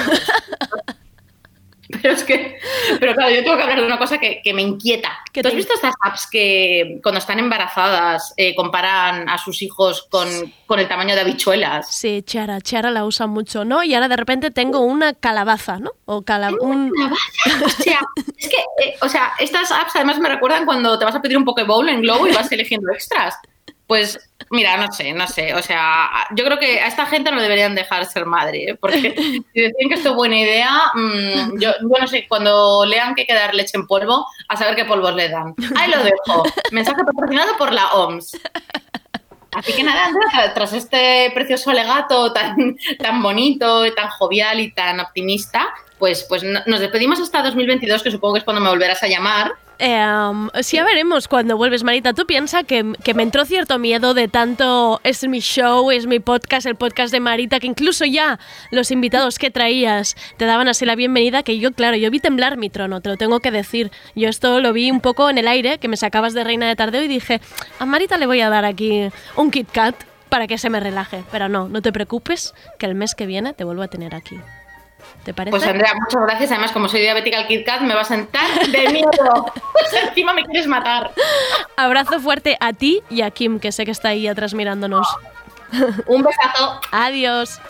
Pero claro, yo tengo que hablar de una cosa que me inquieta. ¿Tú has visto estas apps que cuando están embarazadas comparan a sus hijos con el tamaño de habichuelas? Sí, Chara la usa mucho, ¿no? Y ahora de repente tengo una calabaza, ¿no? O calabaza. O sea, es que, estas apps además me recuerdan cuando te vas a pedir un Pokéball en Globo y vas eligiendo extras. Pues, mira, no sé, o sea, yo creo que a esta gente no deberían dejar ser madre, porque si decían que esto es buena idea, yo no sé, cuando lean que hay que dar leche en polvo, a saber qué polvos le dan. Ahí lo dejo. Mensaje patrocinado por la OMS. Así que nada, Andrea, tras este precioso alegato tan bonito, tan jovial y tan optimista, pues nos despedimos hasta 2022, que supongo que es cuando me volverás a llamar. Sí, ya veremos cuando vuelves, Marita. Tú piensas que me entró cierto miedo de tanto es mi show, es mi podcast, el podcast de Marita, que incluso ya los invitados que traías te daban así la bienvenida, que yo vi temblar mi trono, te lo tengo que decir. Yo esto lo vi un poco en el aire, que me sacabas de Reina de Tardeo y dije, a Marita le voy a dar aquí un Kit Kat para que se me relaje. Pero no te preocupes, que el mes que viene te vuelvo a tener aquí. ¿Te parece? Pues Andrea, muchas gracias. Además, como soy diabética al Kit Kat, me va a sentar de miedo. Encima me quieres matar. Abrazo fuerte a ti y a Kim, que sé que está ahí atrás mirándonos. Un besazo. Adiós.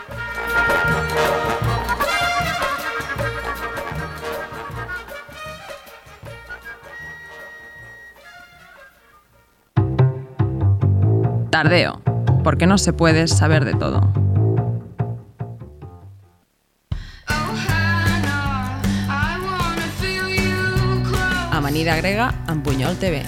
Tardeo, porque no se puede saber de todo. Amanida grega en Buñol TV.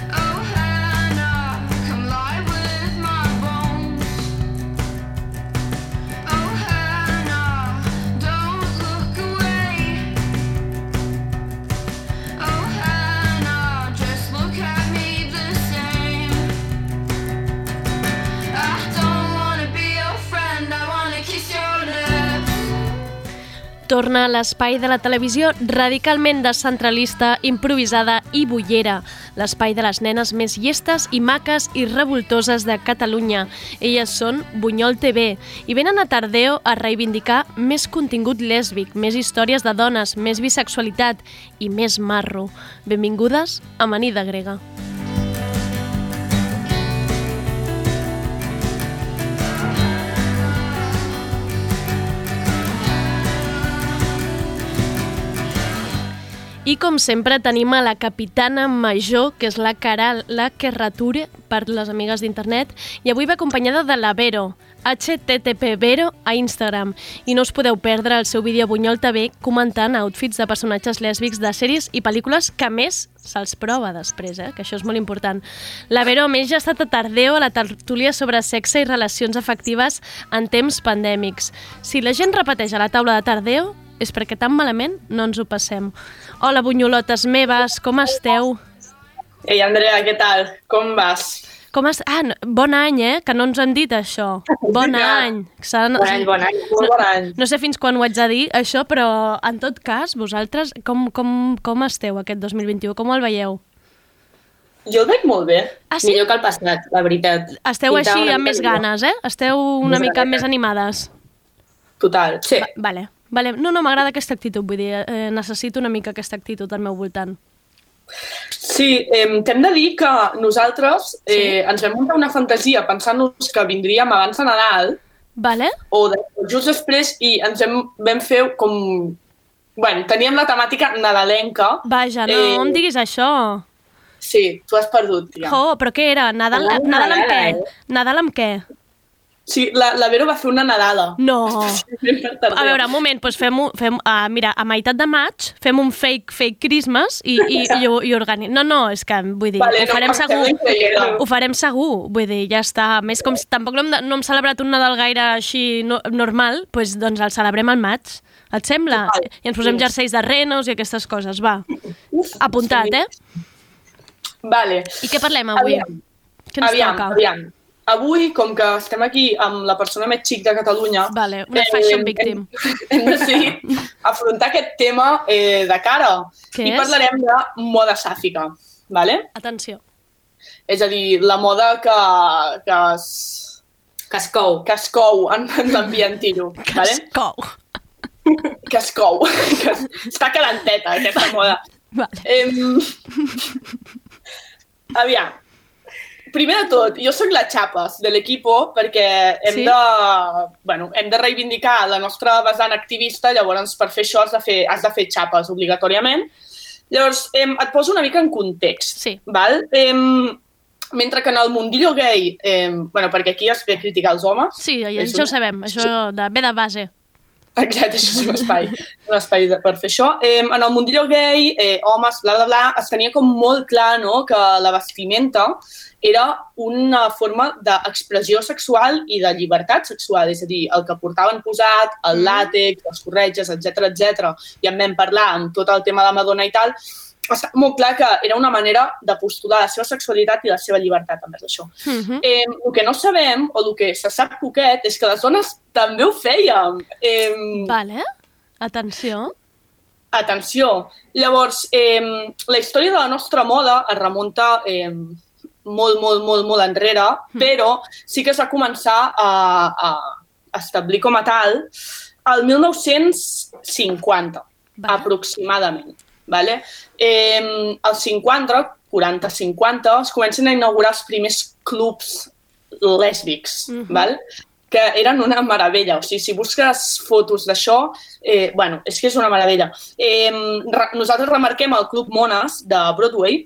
Torna a l'espai de la televisió radicalment descentralista, improvisada i bullera, l'espai de les nenes més llestes i maques i revoltoses de Catalunya. Elles són Buñol TV i venen a Tardeo a reivindicar més contingut lèsbic, més històries de dones, més bisexualitat i més marro. Benvingudes a Amanida grega. I com sempre tenim a la capitana major, que és la Caral, la Kerrature, per les amigues d'internet, i avui va acompanyada de la Vero, HTTP Vero a Instagram, i no us podeu perdre el seu vídeo Buñol TV comentant outfits de personatges lèsbics de sèries i pel·lícules que a més se'ls prova després, que això és molt important. La Vero a més ja ha estat a Tardeo a la tertúlia sobre sexe i relacions afectives en temps pandèmics. Si la gent repeteix a la taula de Tardeo, és perquè tan malament no ens ho passem. Hola, bunyolotes meves, com esteu? Ei, Andrea, què tal? Com vas? Bon any, que no ens han dit això. Bon any. Bon any, molt bon any. No sé fins quan ho haig de dir, això, però en tot cas, vosaltres, com esteu aquest 2021? Com el veieu? Jo el veig molt bé. Ah, sí? Millor que el passat, la veritat. Esteu així amb més ganes, Esteu una mica més animades. Total, sí. Vale. No, m'agrada aquesta actitud, vull dir, necessito una mica aquesta actitud al meu voltant. Sí, t'hem de dir que nosaltres ens vam muntar una fantasia pensant-nos que vindríem abans de Nadal, o just després, i ens vam fer com... Bueno, teníem la temàtica nadalenca. Vaja, no em diguis això. Sí, tu has perdut, tia. Però què era? Nadal amb què? Nadal amb què? Sí, la Vero va fer una nadada. No! A veure, un moment, doncs mira, a meitat de maig fem un fake Christmas i organitzem. No, és que, vull dir, vale, ho farem segur. Ho farem segur, vull dir, ja està. A més, com tampoc no hem celebrat un Nadal gaire així normal, doncs el celebrem al maig. Et sembla? I ens posem jerseis de renos i aquestes coses, va. Apuntat, Vale. I què parlem avui? Què ens toca? Aviam. Avui, com que estem aquí amb la persona més xic de Catalunya... Vale, una fashion victim. Hem decidit afrontar aquest tema de cara. Què és? I parlarem de moda sàfica, vale? Atenció. És a dir, la moda que es cou en l'ambient tiro. Que es cou. Que es cou. Està calenteta, aquesta moda. Vale. Aviam. Primer de tot, jo sóc la Xapes de l'equipo perquè hem de reivindicar la nostra vessant activista, llavors per fer això has de fer xapes obligatòriament. Llavors, et poso una mica en context. Sí. Val? Mentre que en el mundillo gay, perquè aquí es ve criticar els homes... Sí, això ho sabem, això ve de base. Exacte, això és un espai per fer això. En el mundillo gay, homes, bla, bla, bla, es tenia com molt clar, no?, que la vestimenta era una forma d'expressió sexual i de llibertat sexual, és a dir, el que portaven posat, el làtex, les corretges, etc. I en vam parlar amb tot el tema de Madonna i tal, està molt clar que era una manera de postular la seva sexualitat i la seva llibertat envers això. El que no sabem, o el que se sap poquet, és que les dones també ho fèiem. Vale, atenció. Atenció. Llavors, la història de la nostra moda es remunta molt enrere, però sí que es va començar a establir com a tal el 1950, aproximadament. Vale? Als 40-50 es comencen a inaugurar els primers clubs lèsbics, val? Que eren una meravella. O sigui, si busques fotos d'això, és que és una meravella. Nosaltres remarquem el Club Mones de Broadway,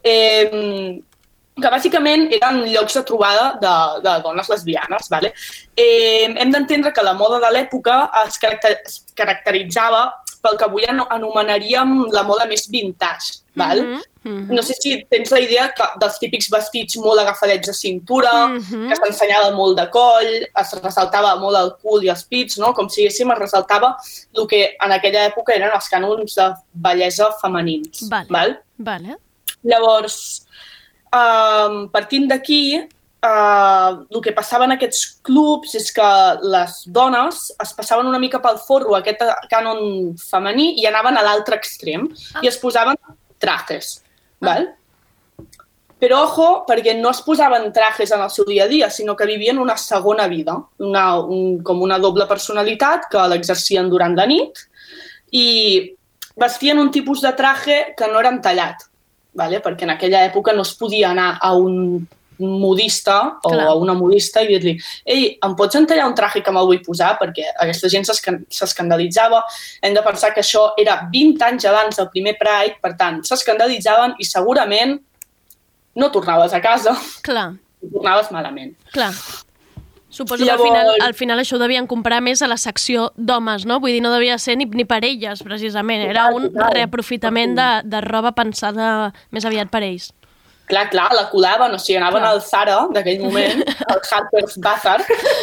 que bàsicament eren llocs de trobada de dones lesbianes. Vale? Hem d'entendre que la moda de l'època es caracteritzava pel que avui anomenaríem la moda més vintage. Val? No sé si tens la idea dels típics vestits molt agafadets de cintura, que s'ensenyava molt de coll, es ressaltava molt el cul i els pits, no? Com si es ressaltava el que en aquella època eren els cànons de bellesa femenins. Vale. Llavors, partint d'aquí, el que passava en aquests clubs és que les dones es passaven una mica pel forro aquest cànon femení i anaven a l'altre extrem i es posaven trajes. Val? Però ojo, perquè no es posaven trajes en el seu dia a dia, sinó que vivien una segona vida, com una doble personalitat que l'exercien durant la nit i vestien un tipus de traje que no era entallat, vale? Perquè en aquella època no es podia anar a un modista o a una modista i dir-li em pots entallar un traje que me'l vull posar? Perquè aquesta gent s'escandalitzava. Hem de pensar que això era 20 anys abans del primer Pride, per tant, s'escandalitzaven i segurament no tornaves a casa. Clar. I tornaves malament. Clar. Suposo que al final això ho devien comprar més a la secció d'homes, no? Vull dir, no devia ser ni per elles, precisament. Era un reaprofitament de roba pensada més aviat per ells. Clar, la colaven, o sigui, anaven al Zara d'aquell moment, al Harper's Bazaar,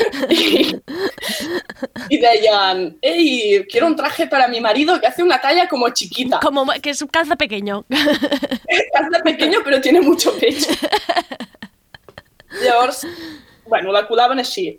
i deien, quiero un traje para mi marido que hace una talla como chiquita. Que es calza pequeño. Calza pequeño, pero tiene mucho pecho. Llavors, la colaven així.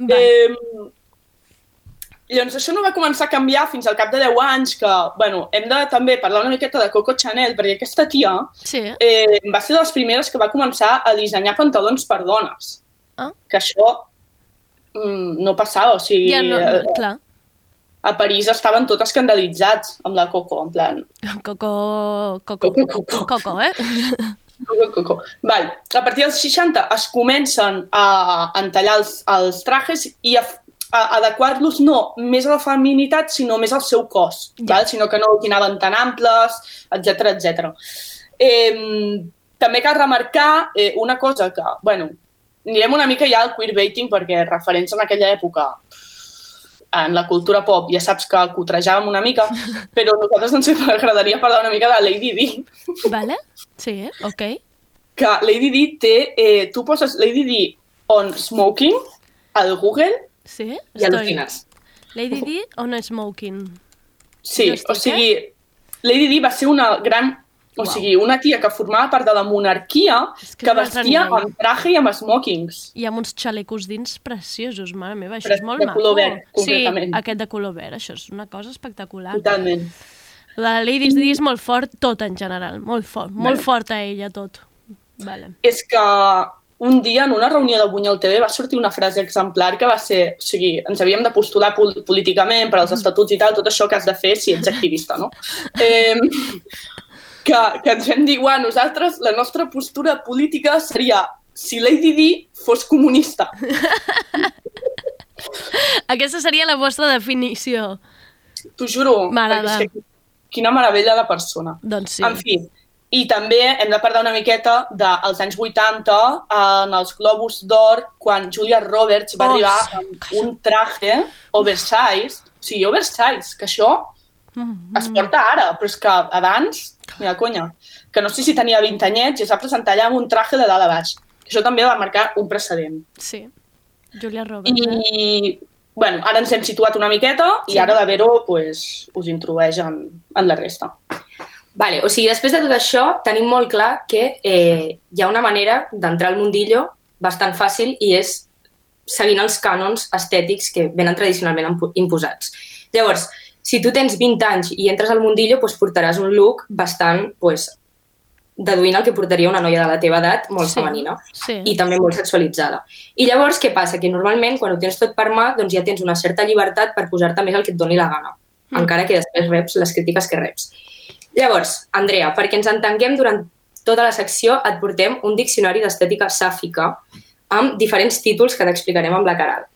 Llavors, això no va començar a canviar fins al cap de 10 anys, que, hem de també parlar una miqueta de Coco Chanel, perquè aquesta tia va ser de les primeres que va començar a dissenyar pantalons per dones. Que això no passava, o sigui... Clar. A París estaven tots escandalitzats amb la Coco, en plan... Coco, eh? Coco. Val. A partir dels 60 es comencen a entallar els trajes i a adequar-los no més a la feminitat, sinó més al seu cos, sinó que no anaven tan amples, etc. També cal remarcar una cosa que, anirem una mica ja al queerbaiting, perquè referents en aquella època en la cultura pop ja saps que cotrejàvem una mica, però a nosaltres ens agradaria parlar una mica de Lady Di. Vale, sí, ok. Que Lady Di té... tu poses Lady Di on smoking al Google i al·lucines. Lady Di on smoking. Sí, o sigui, Lady Di va ser una gran... O sigui, una tia que formava part de la monarquia que vestia amb traje i amb smokings. I amb uns xalecos dins preciosos, mare meva, això és molt maco. De color verd, concretament. Sí, aquest de color verd, això és una cosa espectacular. Totalment. La Lady Di és molt fort, tot en general, molt fort. Molt forta ella, tot. Vale. És que un dia, en una reunió de Bunyol TV, va sortir una frase exemplar que va ser... O sigui, ens havíem de postular políticament per als estatuts i tal, tot això que has de fer si ets activista, no? Que ens vam dir, nosaltres, la nostra postura política seria si Lady Di fos comunista. Aquesta seria la vostra definició. T'ho juro. M'agrada. Quina meravella de persona. Doncs sí. En fi, i també hem de parlar una miqueta dels anys 80 en els Globus d'Or, quan Julia Roberts va arribar amb un traje oversize, o sigui, oversize, que això es porta ara, però és que abans, mira, conya, que no sé si tenia 20 anyets i es va presentar allà amb un traje de dalt a baix. Això també va marcar un precedent. Sí, Julia Roberts. I, bueno, ara ens hem situat una miqueta i ara la Vero pues, us introdueix en la resta. Vale, o sigui, després de tot això, tenim molt clar que hi ha una manera d'entrar al mundillo bastant fàcil i és seguint els cànons estètics que venen tradicionalment imposats. Llavors, si tu tens 20 anys i entres al mundillo, doncs portaràs un look bastant, deduint el que portaria una noia de la teva edat, molt femenina i també molt sexualitzada. I llavors, què passa? Que normalment, quan ho tens tot per mà, doncs ja tens una certa llibertat per posar-te més el que et doni la gana, encara que després reps les crítiques que reps. Llavors, Andrea, perquè ens entenguem durant tota la secció, et portem un diccionari d'estètica sàfica amb diferents títols que t'explicarem amb la Caral.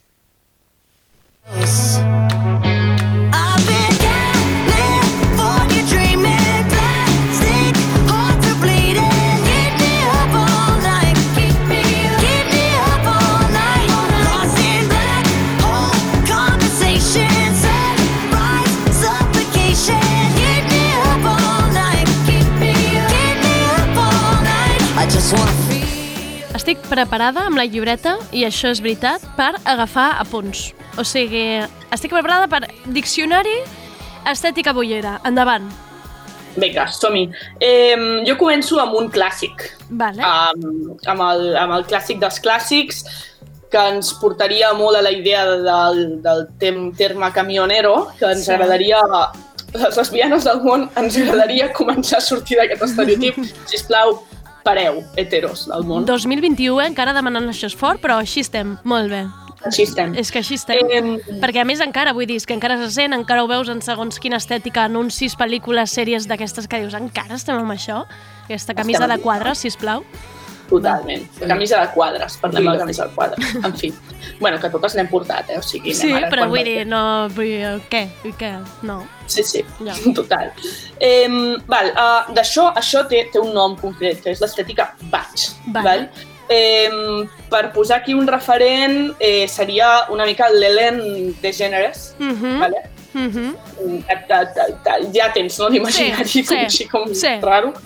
Estic preparada amb la llibreta, i això és veritat, per agafar apunts. O sigui, estic preparada per diccionari estètica bollera. Endavant. Vinga, som-hi. Jo començo amb un clàssic. Vale. Amb el clàssic dels clàssics, que ens portaria molt a la idea del terme camionero, que ens agradaria... Les lesbianes del món ens agradaria començar a sortir d'aquest estereotip. Sisplau, pareu, heteros del món. 2021, encara demanant això és fort, però així estem, molt bé. Així estem. És que així estem. Perquè a més encara, vull dir, que encara se sent, encara ho veus en segons quina estètica, anuncis, pel·lícules, sèries d'aquestes que dius, encara estem amb això? Aquesta camisa de quadres, sisplau. Totalment. Camisa de quadres, parlem de la camisa de quadres. En fi. Bueno, que totes n'hem portat, O sigui, sí, però vull dir, no... Què? No. Sí, total. Això té un nom concret, que és l'estètica batch. Val? Per posar aquí un referent, seria una mica l'Ellen DeGeneres, vale? Ja tens, no?, l'imaginari així com raro.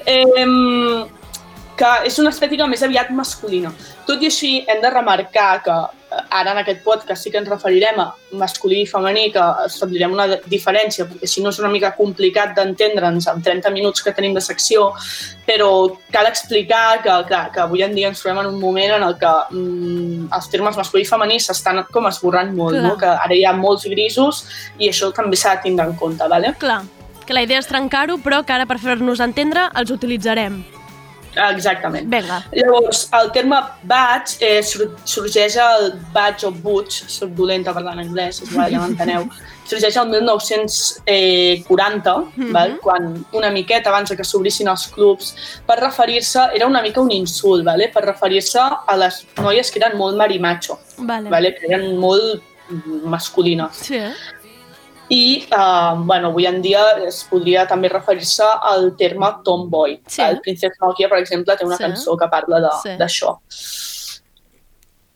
Que és una estètica més aviat masculina. Tot i així, hem de remarcar que ara en aquest podcast sí que ens referirem a masculí i femení, que establirem una diferència, perquè si no és una mica complicat d'entendre'ns en 30 minuts que tenim de secció, però cal explicar que avui en dia ens trobem en un moment en el que els termes masculí i femení s'estan com esborrant molt, no? Que ara hi ha molts grisos i això també s'ha de tindre en compte, ¿vale? Clar, que la idea és trencar-ho, però que ara per fer-nos entendre els utilitzarem. Exactament. Vinga. Llavors, el terme batch sorgeix el batch o butch, soc dolenta parlant anglès, ja m'enteneu, sorgeix el 1940, quan una miqueta abans que s'obrissin els clubs, per referir-se, era una mica un insult, per referir-se a les noies que eren molt marimacho, que eren molt masculines. Sí, I, avui en dia es podria també referir-se al terme tomboy. El Princess Nokia, per exemple, té una cançó que parla d'això.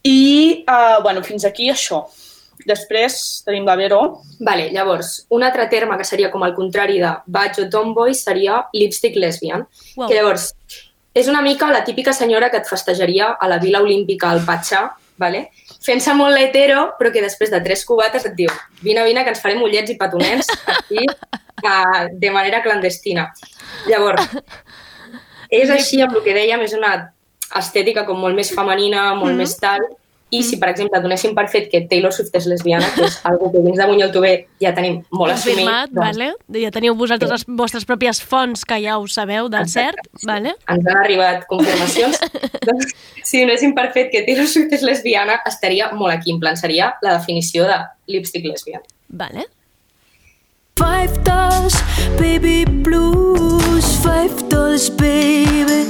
I, fins aquí això. Després tenim la Vero. Vale, llavors, un altre terme que seria com el contrari de badge o tomboy seria lipstick lesbian. Wow. Que llavors és una mica la típica senyora que et festejaria a la Vila Olímpica al Patxà, vale? Fent-se molt hetero, però que després de 3 cubates et diu vine, que ens farem ullets i petonets aquí de manera clandestina. Llavors, és així amb el que dèiem, és una estètica com molt més femenina, molt més tal, i si, per exemple, donéssim per fet que Taylor Swift és lesbiana, que és algo que dins de Bunyol-Tover ja tenim molt assumit. Confirmat, vale? Ja teniu vosaltres les vostres pròpies fonts que ja ho sabeu del cert, vale? Ens han arribat confirmacions. Doncs, si donéssim per fet que Taylor Swift és lesbiana, estaria molt aquí, en plan, seria la definició de lipstick lesbian. Vale. $5, baby blues, $5, baby.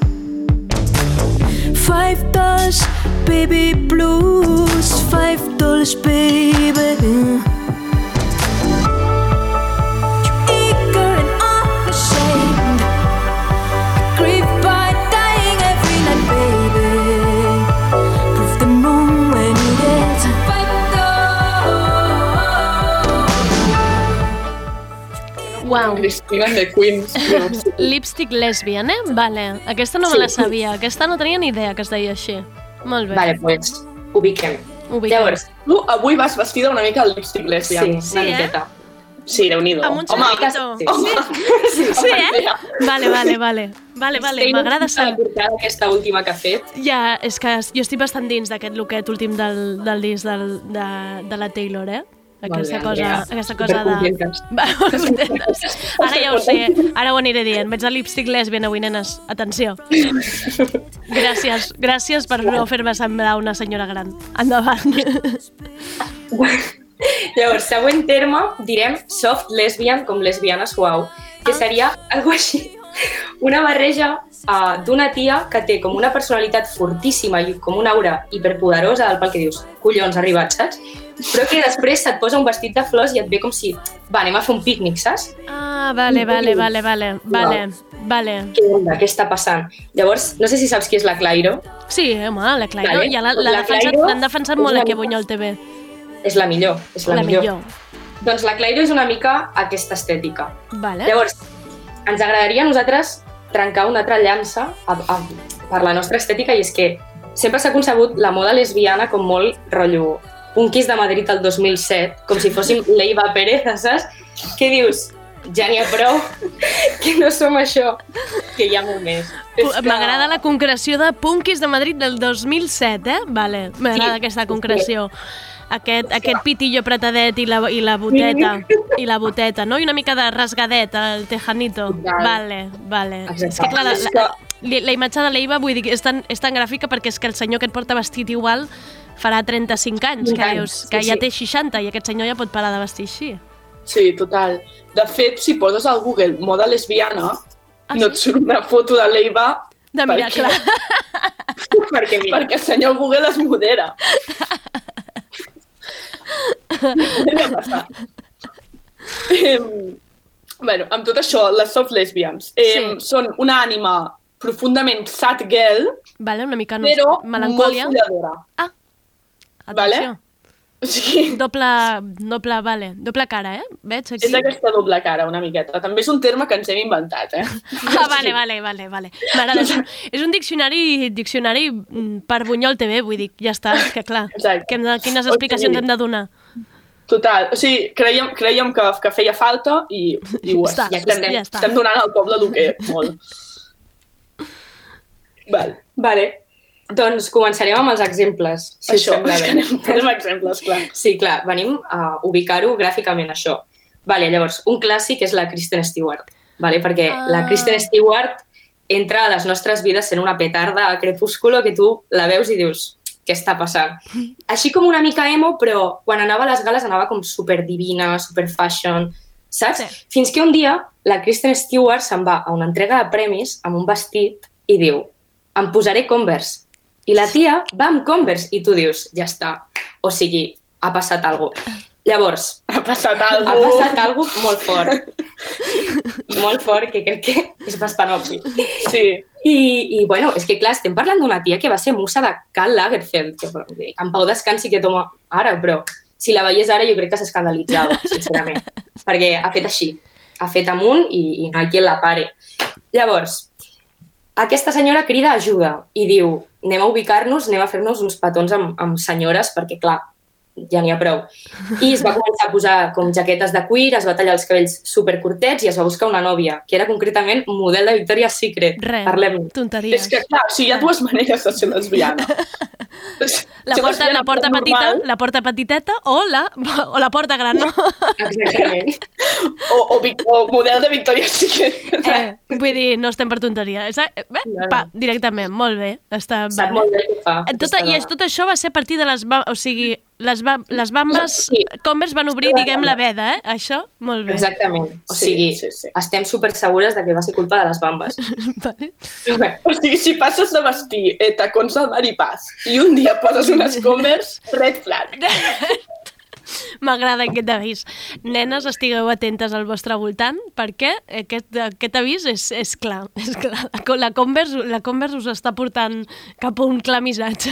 $5, baby blues, $5, baby. Eager and unashamed, grieved by dying every night, baby. Prove the moon when you get Wow. Cristina de Queens. Lipstick lesbian, Vale. Aquesta no me la sabia. Aquesta no tenia ni idea que es deia així. Molt bé. Vale, doncs ubiquem. Llavors, tu avui vas vestida una mica al lipstick lesbian. Sí, una miqueta. Sí, Déu-n'hi-do. Amb un xavalito. Sí, Vale, m'agrada saber. Aquesta última que ha fet. Ja, és que jo estic bastant dins d'aquest looket últim del disc de la Taylor, Aquesta cosa de... Ara ja ho sé, ara ho aniré dient. Veig el lipstick lesbian avui, nenes. Atenció. Gràcies per no fer-me semblar una senyora gran. Endavant. Llavors, següent terme, direm soft lesbian, com lesbiana suau, que seria algo així. Una barreja d'una tia que té com una personalitat fortíssima i com una aura hiperpoderosa del pel que dius, collons, ha arribat, saps? Però que després se't posa un vestit de flors i et ve com si, anem a fer un pícnic, saps? Ah, vale. Què està passant? Llavors, no sé si saps qui és la Clairo. Sí, home, la Clairo, ja l'han defensat molt aquí a Bunyol-TV. És la millor, Doncs la Clairo és una mica aquesta estètica. Vale. Llavors, ens agradaria a nosaltres trencar una altra llança per la nostra estètica i és que sempre s'ha concebut la moda lesbiana com molt rotllo punquis de Madrid el 2007, com si fóssim Leiva Pérez, saps? Què dius? Ja n'hi ha prou, que no som això, que hi ha molt més. M'agrada la concreció de punquis de Madrid del 2007, Vale, m'agrada aquesta concreció. Aquest pitillo apretadet i la boteta, no? I una mica de rasgadet, el tejanito. Vale. És que clar, la imatge de l'Eiva, vull dir, és tan gràfica perquè és que el senyor que et porta vestit igual farà 35 anys, que dius, que ja té 60 i aquest senyor ja pot parar de vestir així. Sí, total. De fet, si poses al Google moda lesbiana, no et surt una foto de l'Eiva de miracle. Perquè el senyor Google es modera. Amb tot això, les soft lesbians són una ànima profundament sad girl, una mica però melancòlia. Molt folladora. Atenció. Sí. Doble cara, Veig aquí. És aquesta doble cara, una miqueta. També és un terme que ens hem inventat, Vale. M'agrada. És un diccionari per Bunyol-TV, vull dir, ja està, que clar. Quines explicacions hem de donar? Total, o sigui, creiem que feia falta i ho és. Estem donant al poble el que molt. Vale. Doncs començarem amb els exemples, si us sembla bé. Tenim exemples, clar. Sí, clar, venim a ubicar-ho gràficament, això. Llavors, un clàssic és la Kristen Stewart, perquè la Kristen Stewart entra a les nostres vides sent una petarda a Crepúsculo que tu la veus i dius, què està passant? Així com una mica emo, però quan anava a les gales anava com superdivina, superfashion, saps? Fins que un dia la Kristen Stewart se'n va a una entrega de premis amb un vestit i diu, em posaré Converse. I la tia va amb Converse i tu dius, ja està. O sigui, ha passat alguna cosa. Llavors, ha passat alguna molt fort. molt fort, que crec que és bastant obvi. Sí. I bueno, és que clar, estem parlant d'una tia que va ser musa de Karl Lagerfeld, que en pau descansi que toma ara, però si la veiés ara jo crec que s'escandalitzava, sincerament, perquè ha fet així, ha fet amunt i no hi ha qui la pare. Llavors, aquesta senyora crida ajuda i diu, anem a ubicar-nos, anem a fer-nos uns petons amb senyores, perquè clar, ja n'hi ha prou. I es va començar a posar com jaquetes de cuir, es va tallar els cabells supercurtets i es va buscar una nòvia, que era concretament model de Victoria's Secret. Res, tonteries. És que clar, o sigui, hi ha dues maneres de ser lesbiana. La porta petiteta o la porta gran, no? Exactament. O model de Victoria's Secret. Vull dir, no estem per tonteria. Directament, molt bé. Està Sap molt bé què fa. I tot això va ser a partir de les bambes Converse van obrir, diguem, la veda, Això, molt bé. Exactament. O sigui, estem supersegures de que va ser culpa de les bambes. Vale. O sigui, si passes de vestir tacons al maripàs i un dia poses unes Converse, red flag. M'agrada aquest avís. Nenes, estigueu atentes al vostre voltant perquè aquest avís és clar. És clar. La Converse us està portant cap a un clar missatge.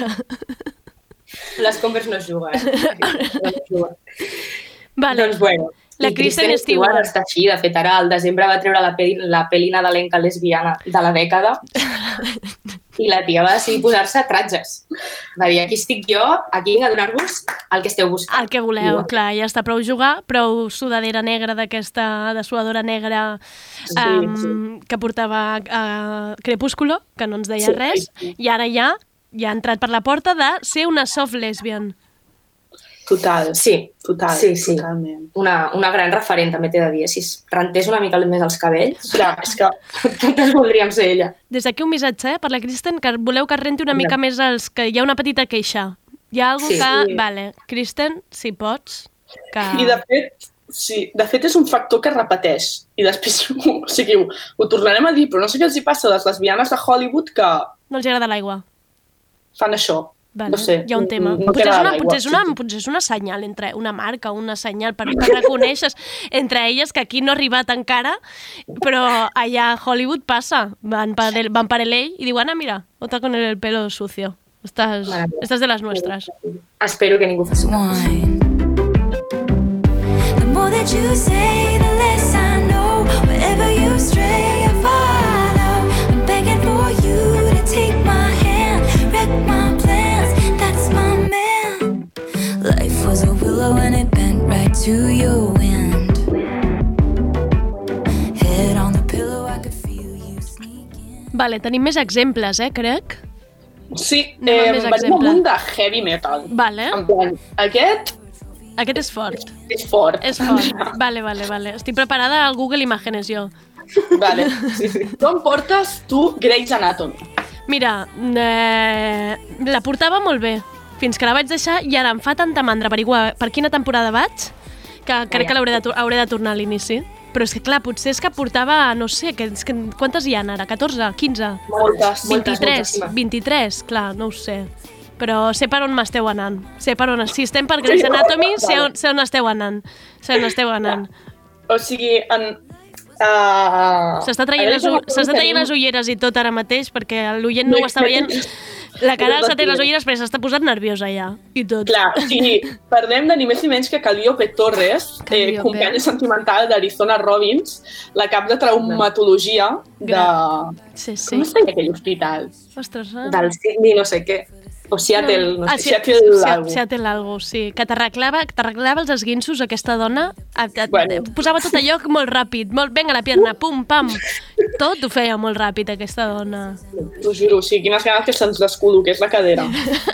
Les Converse no es juguen. No es juguen. Vale. Doncs bueno, la Kristen Stewart està així. De fet, ara al desembre va treure la pel·li nadalenca lesbiana de la dècada i la tia va decidir posar-se tratges. Va dir, aquí estic jo, aquí vinc a donar-vos el que esteu buscant. El que voleu, clar, ja està prou jugar, prou sudadera negra d'aquesta dessuadora negra que portava Crepúsculo, que no ens deia res, i ara ja ha entrat per la porta de ser una soft lesbian. Total. Sí. Totalment. Una gran referent, també t'he de dir. Si es rentés una mica més els cabells, clar, és que totes voldríem ser ella. Des d'aquí un missatge per la Kristen, que voleu que es renti una mica més els... que hi ha una petita queixa. Hi ha algú que... Vale, Kristen, si pots... Que... I de fet és un factor que repeteix. I després, o sigui, ho tornarem a dir, però no sé què els hi passa a les lesbianes de Hollywood que... No els agrada l'aigua. Fan això. Vale, no sé. Hi ha un tema. Potser és una senyal entre una marca, una senyal per reconèixer entre elles que aquí no ha arribat encara, però allà a Hollywood passa. Van per LA i diuen, mira, otra con el pelo sucio. Estás de las nuestras. Espero que ningú faci. The more that you say, the less I know. Wherever you stray, I follow. I'm begging for you to take my hand, wreck my plans. That's my man. Life was a willow and it bent right to your wind. Head on the pillow, I could feel you sneaking. Vale, tenim més exemples, crec. Sí, venim amunt de heavy metal. Vale. En plan, Aquest és fort. És fort. Vale. Estic preparada al Google Imágenes, jo. Vale, sí. Com portes tu Grey's Anatomy? Mira, la portava molt bé, fins que la vaig deixar i ara em fa tanta mandra averiguar per quina temporada vaig, que crec que hauré de tornar a l'inici. Però és que, clar, potser és que portava, no sé, quantes hi ha ara? 14? 15? Moltes. 23, clar, no ho sé. Però sé per on m'esteu anant. Si estem per Grey's Anatomy, sé on esteu anant. O sigui, s'està traient les ulleres i tot ara mateix, perquè l'oient no ho està veient. La cara s'ha tret les ulleres perquè s'està posant nerviosa ja, i tot. Clar, sí, parlem de ni més ni menys que Calliope Torres, companya sentimental d'Arizona Robbins, la cap de traumatologia de... Sí. Com es deia aquell hospital? Ostres, del Sydney no sé què. O Seattle, no sé. Seattle algo, sí. Que t'arreglava els esguinços, aquesta dona. Posava tot allò molt ràpid. Vinga, la pierna, pum, pam. Tot ho feia molt ràpid, aquesta dona. T'ho juro, sí, quines ganes que se'ns descol·loqués la cadera.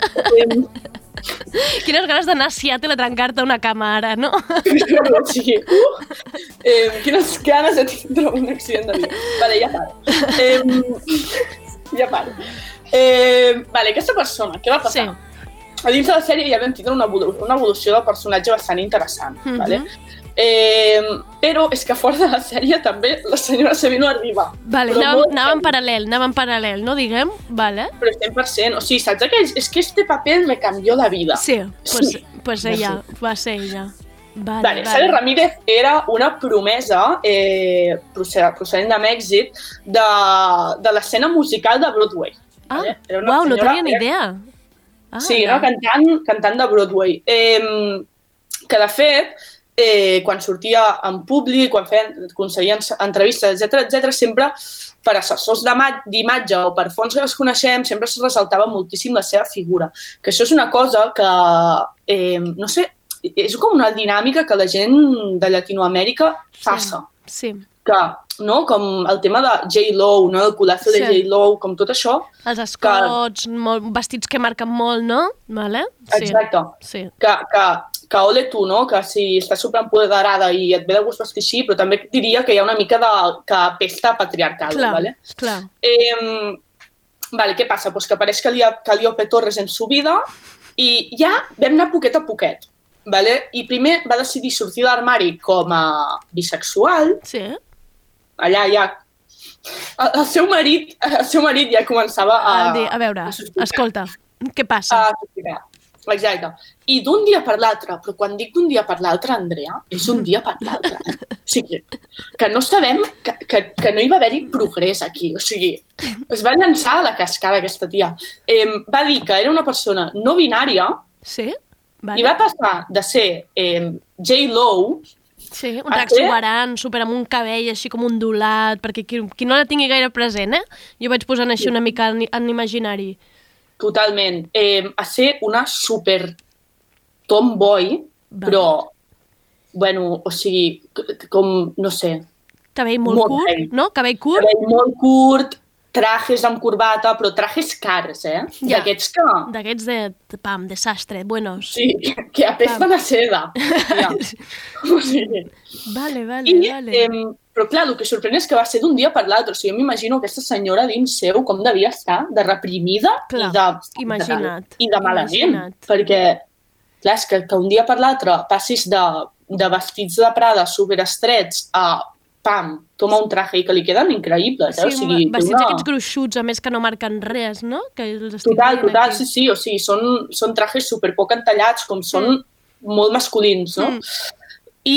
Quines ganes d'anar a Seattle a trencar-te una cama ara, no? Sí. Quines ganes de tindre un accident de vida. Vale, ja paro. Vale, aquesta persona, què va passar? Sí. A dins de la sèrie ja vam tindre una evolució del personatge bastant interessant, vale? Però és que fora de la sèrie també la senyora Sevino arriba. Vale, anava en paral·lel, no diguem? Vale. Però 100%, o sigui, saps aquells? És que este paper me cambió la vida. Sí, pues ella, va ser ella. Sally Ramírez era una promesa procedent de Mèxic de l'escena musical de Broadway. Uau, no tenia ni idea. Sí, era cantant de Broadway. Que, de fet, quan sortia en públic, quan concedia entrevistes, etc, sempre per assessors d'imatge o per fons que les coneixem, sempre es ressaltava moltíssim la seva figura. Que això és una cosa que, no sé, és com una dinàmica que la gent de Llatinoamèrica passa. Sí. Que, no? Com el tema de J-Lo, no? El culazo de J-Lo, com tot això. Els escots, vestits que marquen molt, no? Vale? Sí. Exacte. Sí. Que ole tu, no? Que si estàs superempoderada i et ve de gust vestir així, però també diria que hi ha una mica que pesta patriarcal. Clar, vale? Clar. Què passa? Pues que apareix Calliope Torres en su vida i ja vam anar poquet a poquet. Vale? I primer va decidir sortir de l'armari com a bisexual. Sí. Allà ja... El seu marit ja començava a veure, escolta, què passa? Exacte. I d'un dia per l'altre, però quan dic d'un dia per l'altre, Andrea, és un dia per l'altre. O sigui, que no sabem que no hi va haver-hi progrés aquí. O sigui, es va llançar a la cascada aquesta tia. Va dir que era una persona no binària. Sí? Vale. I va passar de ser J-Lo... Sí, un drac exuberant, super amb un cabell així com ondulat, perquè qui no la tingui gaire present, jo vaig posant així una mica en imaginari. Totalment. A ser una super tomboy, però, bueno, o sigui, com, no sé... Cabell molt curt, no? Cabell curt? Cabell molt curt, trajes amb corbata, però trajes cars, Ja. D'aquests que... D'aquests de desastre, buenos. Sí, que apesten a seda. Ja. O sigui... Vale. Però clar, el que sorprèn és que va ser d'un dia per l'altre. O sigui, jo m'imagino aquesta senyora dins seu com devia estar de reprimida i de mala gent. Perquè, clar, és que un dia per l'altre passis de vestits de Prada superestrets a pam, toma un traje i que li queden increïbles. Sí, o sigui, vestits aquests gruixuts, a més que no marquen res, no? Que total, sí. O sigui, són trajes superpoc entallats, com són molt masculins, no? I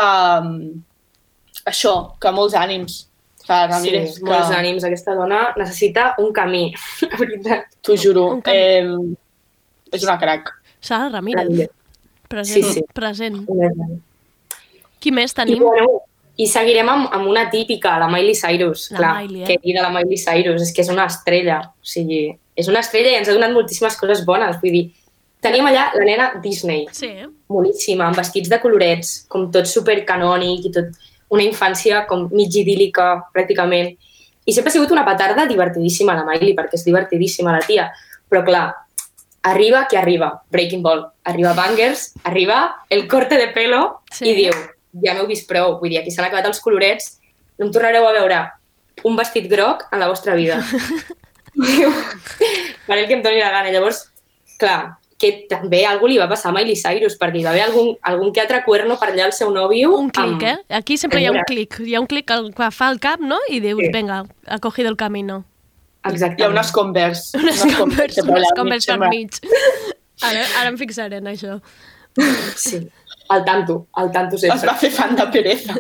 això, que molts ànims. Ramírez, sí, molts ànims. Aquesta dona necessita un camí, la veritat. T'ho juro. És una crac. Sara Ramírez. Present. Qui més tenim? I seguirem amb una típica, la Miley Cyrus. Que era la Miley Cyrus, és que és una estrella. O sigui, és una estrella i ens ha donat moltíssimes coses bones. Vull dir, tenim allà la nena Disney, boníssima, amb vestits de colorets, com tot supercanònic i tot una infància com mig idíl·lica, pràcticament. I sempre ha sigut una petarda divertidíssima, la Miley, perquè és divertidíssima la tia. Però clar, arriba qui arriba, Breaking Ball, arriba Bangers, arriba el corte de pelo i diu... Ja m'heu vist prou, vull dir, aquí s'han acabat els colorets, no em tornareu a veure un vestit groc en la vostra vida. Faré el que em doni la gana. Llavors, clar, que també algú li va passar a Miley Cyrus, perquè hi va haver algun que altre cuerno per allà al seu nòvio. Un clic, Aquí sempre hi ha un clic. Hi ha un clic que fa el cap, no? I dius, venga, ha cogido el camino. Exactament. Hi ha unes Converse. Unes Converse per mig. Ara em fixaré en això. Sí. Al tanto sempre. Es va fer fan de pereza.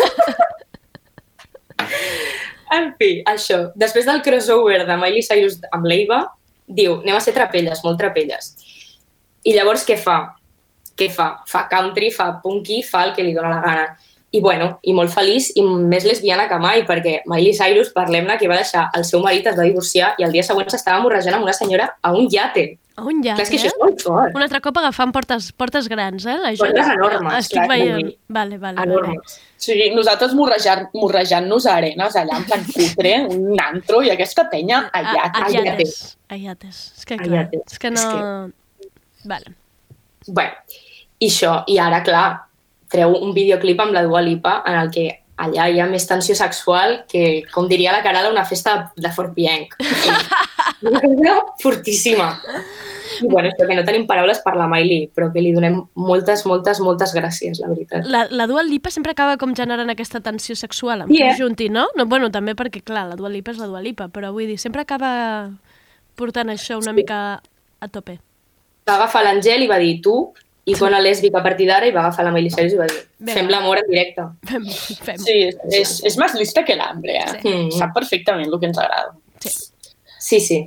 En fi, això. Després del crossover de Miley Cyrus amb l'Eva, diu, anem a ser trapelles, molt trapelles. I llavors què fa? Fa country, fa punky, fa el que li dóna la gana. I bueno, i molt feliç i més lesbiana que mai, perquè Miley Cyrus, parlem-ne, que va deixar el seu marit, es va divorciar i el dia següent s'estava morrejant amb una senyora a un iate. A un iate, clar, és que això és molt fort. Un altre cop agafant portes grans, Portes enormes. Estic veient. Vale. Enormes. O sigui, nosaltres morrejant-nos a arenes allà en plan cutre, un antro, i aquesta penya a iates. A iates. És que clar, és que no... Vale. Bueno, i això, i ara, clar, treu un videoclip amb la Dua Lipa en el que allà hi ha més tensió sexual que, com diria la Caral, una festa de Fort Pienc. Una cosa fortíssima. I bueno, és que no tenim paraules per la Miley, però que li donem moltes gràcies, la veritat. La Dua Lipa sempre acaba com generant aquesta tensió sexual amb Junti, no? Bueno, també perquè, clar, la Dua Lipa és la Dua Lipa, però vull dir, sempre acaba portant això una mica a tope. Va agafar l'Àngel i va dir, tu I quan a lèsbica a partir d'ara i va agafar la Miley Cyrus i va dir fem l'amor en directe. Fem. Sí, és més lista que l'hambre, eh? Sí. Sap perfectament el que ens agrada. Sí.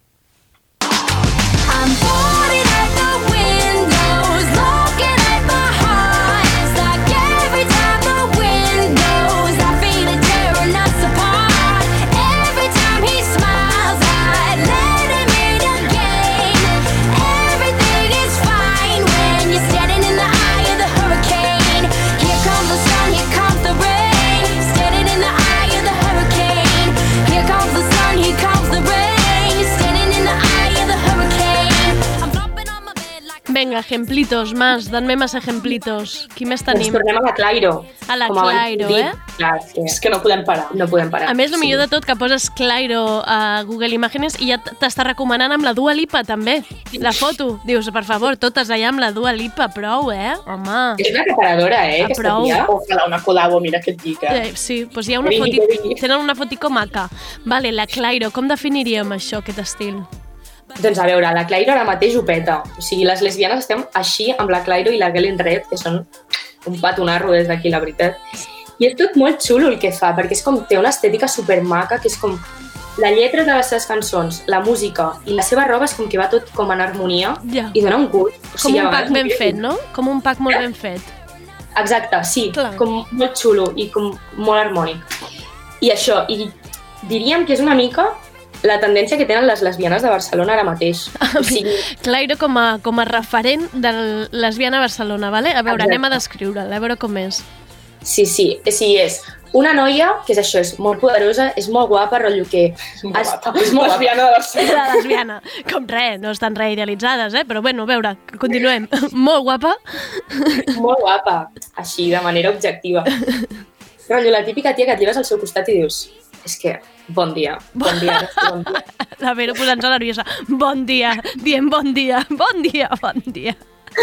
I'm boarding at the windows, looking at my heart. It's like every time the wind blows, I feel it tearing us apart. Every time he smiles, I let him in again. Everything is fine when you're standing in the eye of the hurricane. Here comes the sun, here comes the rain. Standing in the eye of the hurricane. Here comes the sun, here comes the rain. Standing in the eye of the hurricane. I'm flopping on my bed like Vinga, ejemplitos, más, danme más ejemplitos. Qui més Ens tenim? tornem a la Clairo. A la Com abans Clairo, he dit. eh? Clar, És que no podem parar. no podem parar. A més, el millor de tot, que poses Clairo a Google Imágenes i ja t'està recomanant amb la Dua Lipa, també. La foto. Dius, per favor, totes allà amb la Dua Lipa, prou, Home. És una acaparadora, aquesta prou. tia. Ojalà una col·labo, mira què et dic, Sí, doncs hi ha una Que vingui, foto, que vingui. tenen una fotico maca. Vale, la Clairo, com definiríem això, aquest estil? Doncs a veure, la Clairo ara mateix ho peta. O sigui, les lesbianes estem així amb la Clairo i la Galen Red, que són un patonarro des d'aquí, la veritat. I és tot molt xulo el que fa, perquè és com, té una estètica supermaca, que és com la lletra de les seves cançons, la música i la seva roba és com que va tot com en harmonia Ja. i dona un gust. O Com sigui, a un pack vegades ben fet, no? Com un pack molt ben fet. Exacte, sí, Clar. com molt xulo i com molt harmònic. I això, i diríem que és una mica la tendència que tenen les lesbianes de Barcelona ara mateix. O sigui, Clairo com a referent de lesbiana a Barcelona, vale? A veure, Exacte. anem a descriure-la, a veure com és. sí, és una noia que és això, és molt poderosa, és molt guapa, rotllo que... És molt lesbiana de Barcelona. La lesbiana, com res, no estan reidealitzades, però bueno, a veure, continuem. Molt guapa. Molt guapa, així, de manera objectiva. Rotllo, la típica tia que et lleves al seu costat i dius és que, bon dia, bon dia. La Vero posant-se nerviosa. Bon dia, dient bon dia, bon dia, bon dia.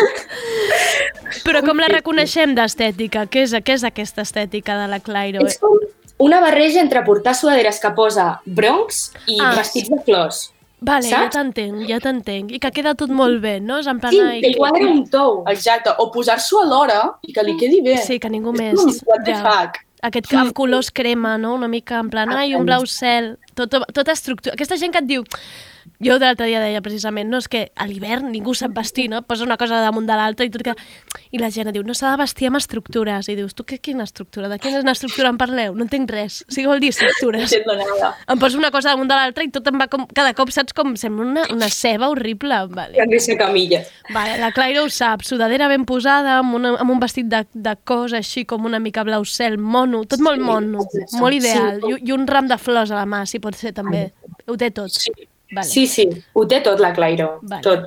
Però com la reconeixem d'estètica? Què és aquesta estètica de la Clairo? És com una barreja entre portar sudaderes que posa Bronx i Ah. vestits de flors. Vale, saps? ja t'entenc. I que queda tot molt bé, no? És en plan... Sí, ai, que igual era un tou. Exacte, o posar-s'ho a l'hora i que li quedi bé. Sí, que ningú És més. com, what the Ja. fuck? Aquest amb colors crema, no? Una mica en plan, ai, un blau cel, tota estructura. Aquesta gent que et diu... Jo de l'altre dia deia precisament, no, és que a l'hivern ningú sap vestir, no? Posa una cosa damunt de l'altra i la gent diu, no s'ha de vestir amb estructures. I dius, tu quina estructura? De quina estructura em parleu? No entenc res. O sigui, vol dir No estructures. entiendo nada. Em poso una cosa damunt de l'altra i tot em va com... Cada cop saps com sembla una ceba horrible. Vale. Que no camilla. Vale, la Clairo ho sap, sudadera ben posada, amb un vestit de cos així com una mica blau cel, mono, tot molt mono, molt ideal. I un ram de flors a la mà, si pot ser també. Ho té tot. Vale. Sí, ho té tot la Clairo, Vale. tot.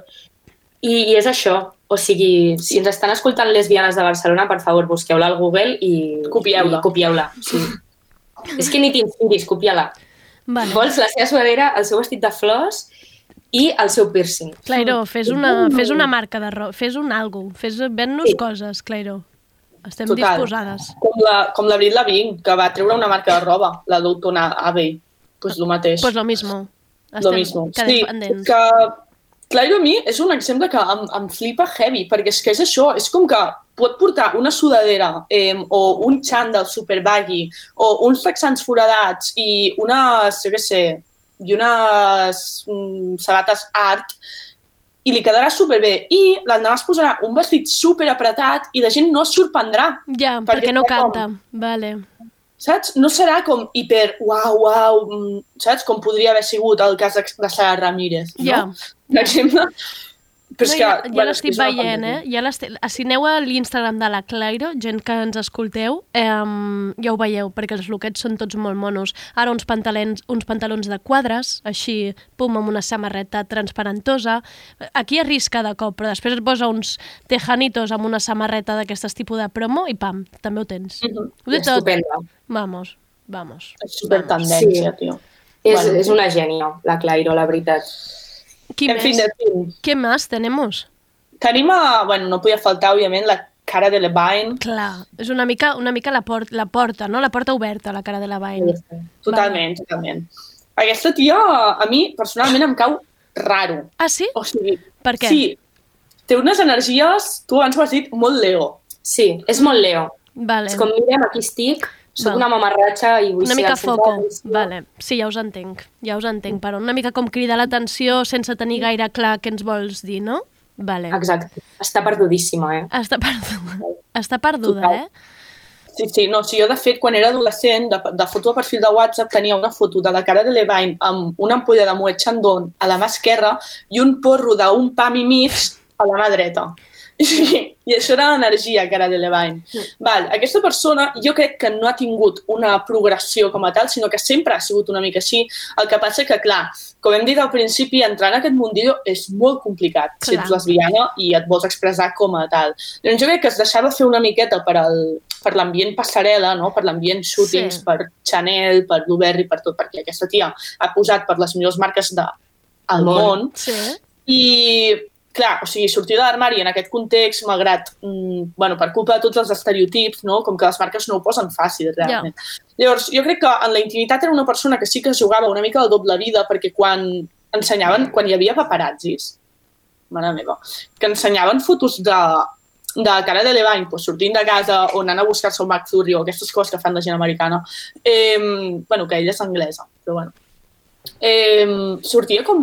I és això, o sigui, si ens estan escoltant lesbianes de Barcelona, per favor, busqueu-la al Google i Copieu-la. i copieu-la. Sí. És que ni t'inspiris, copia-la. Vale. Vols la seva sudadera, el seu vestit de flors i el seu piercing. Clairo, fes una marca de roba, fes un algo, ven-nos coses, Clairo. Estem disposades. Com la Brit Lavigne, que va treure una marca de roba, la Doutona Abbey. Pues lo mateix. Pues lo mismo. Lo mismo. Que Sí, dependents. que Clairo a mi és un exemple que em flipa heavy, perquè és que és això, és com que pot portar una sudadera o un xandall super baggy o uns texans foradats i unes, jo què sé, i unes sabates art i li quedarà superbé. I l'endemà es posarà un vestit super apretat i la gent no es sorprendrà. Ja, perquè no canta. Vale. Saps? No serà com hiper, uau, saps? Com podria haver sigut el cas de Sara Ramírez, no? Ja. Per exemple. Però és que, ja bueno, l'estic és una veient, fantasia. Si aneu a l'Instagram de la Clairo, gent que ens escolteu, ja ho veieu, perquè els lookets són tots molt monos. Ara uns pantalons de quadres, així, pum, amb una samarreta transparentosa. Aquí arrisca de cop, però després et posa uns tejanitos amb una samarreta d'aquestes tipus de promo i pam, també ho tens. Ho té tot. Estupenda. Vamos. És super tendència, Sí. tio. És una gènia, la Clairo, la veritat. En fin. ¿Qué más tenemos? Tenim bueno, no podia faltar, òbviament, la cara de Levine. Clar, és una mica la porta, no? La porta oberta, la cara de Levine. Totalment. Aquesta tia, a mi, personalment, em cau raro. Ah, sí? O sigui, Per què? Sí, té unes energies, tu abans ho has dit, molt Leo. Sí, és molt Leo. Vale. És com, mirem, aquí estic, soc una mamarratxa i vull una ser... mica foco, vale. Sí, ja us entenc, però una mica com cridar l'atenció sense tenir gaire clar què ens vols dir, no? Vale. Exacte, està perdudíssima, Està perduda, Sí, no, jo de fet, quan era adolescent, de foto de perfil de WhatsApp tenia una foto de la Cara Delevingne amb una ampolla de Moet Chandon a la mà esquerra i un porro d'un pam i mig a la mà dreta. I això era l'energia Cara Delevingne. Aquesta persona jo crec que no ha tingut una progressió com a tal, sinó que sempre ha sigut una mica així. El que passa que, clar, com hem dit al principi, entrar en aquest mundillo és molt complicat si ets lesbiana i et vols expressar com a tal. Llavors jo crec que es deixava fer una miqueta per l'ambient passarel·la, no? Per l'ambient shootings, per Chanel, per Burberry, per tot, perquè aquesta tia ha posat per les millors marques del món. I clar, o sigui, sortir de l'armari en aquest context, malgrat, per culpa de tots els estereotips, no? Com que les marques no ho posen fàcil, realment. Llavors, jo crec que en la intimitat era una persona que sí que jugava una mica de doble vida, perquè quan hi havia paparazzis, mare meva, que ensenyaven fotos de Cara Delevingne, sortint de casa o anant a buscar-se un McFlurry o aquestes coses que fan la gent americana, que ella és anglesa, però sortia com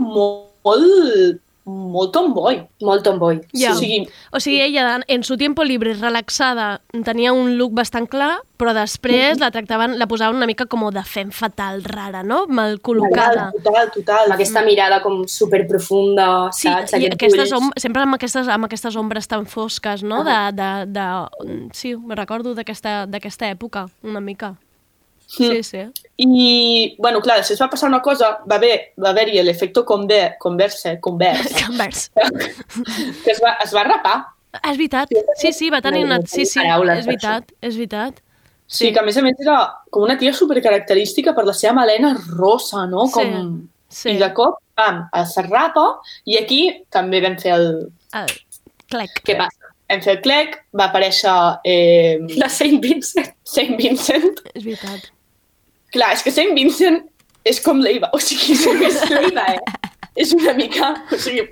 molt tomboy. Molt tomboy. Yeah. O sigui, ella en su tiempo libre, relaxada, tenia un look bastant clar, però després la posaven una mica com de femme fatal, rara, no? Mal col·locada. Total. Amb aquesta mirada com superprofunda, saps? I sempre amb aquestes ombres tan fosques, no? Sí, me recordo d'aquesta època, una mica. Sí. I, clar, després va passar una cosa, va haver-hi l'efecte Converse, que es va rapar. És veritat, sí, va tenir una... Sí, és veritat. Sí, que a més era com una tia supercaracterística per la seva melena rosa, no? I de cop, es rapa, i aquí també vam fer el clec. Què passa? Vam fer el clec, va aparèixer... La Saint Vincent. És veritat. Clar, és que Saint Vincent és com l'Eva, o sigui, és l'Eva, És una mica, o sigui,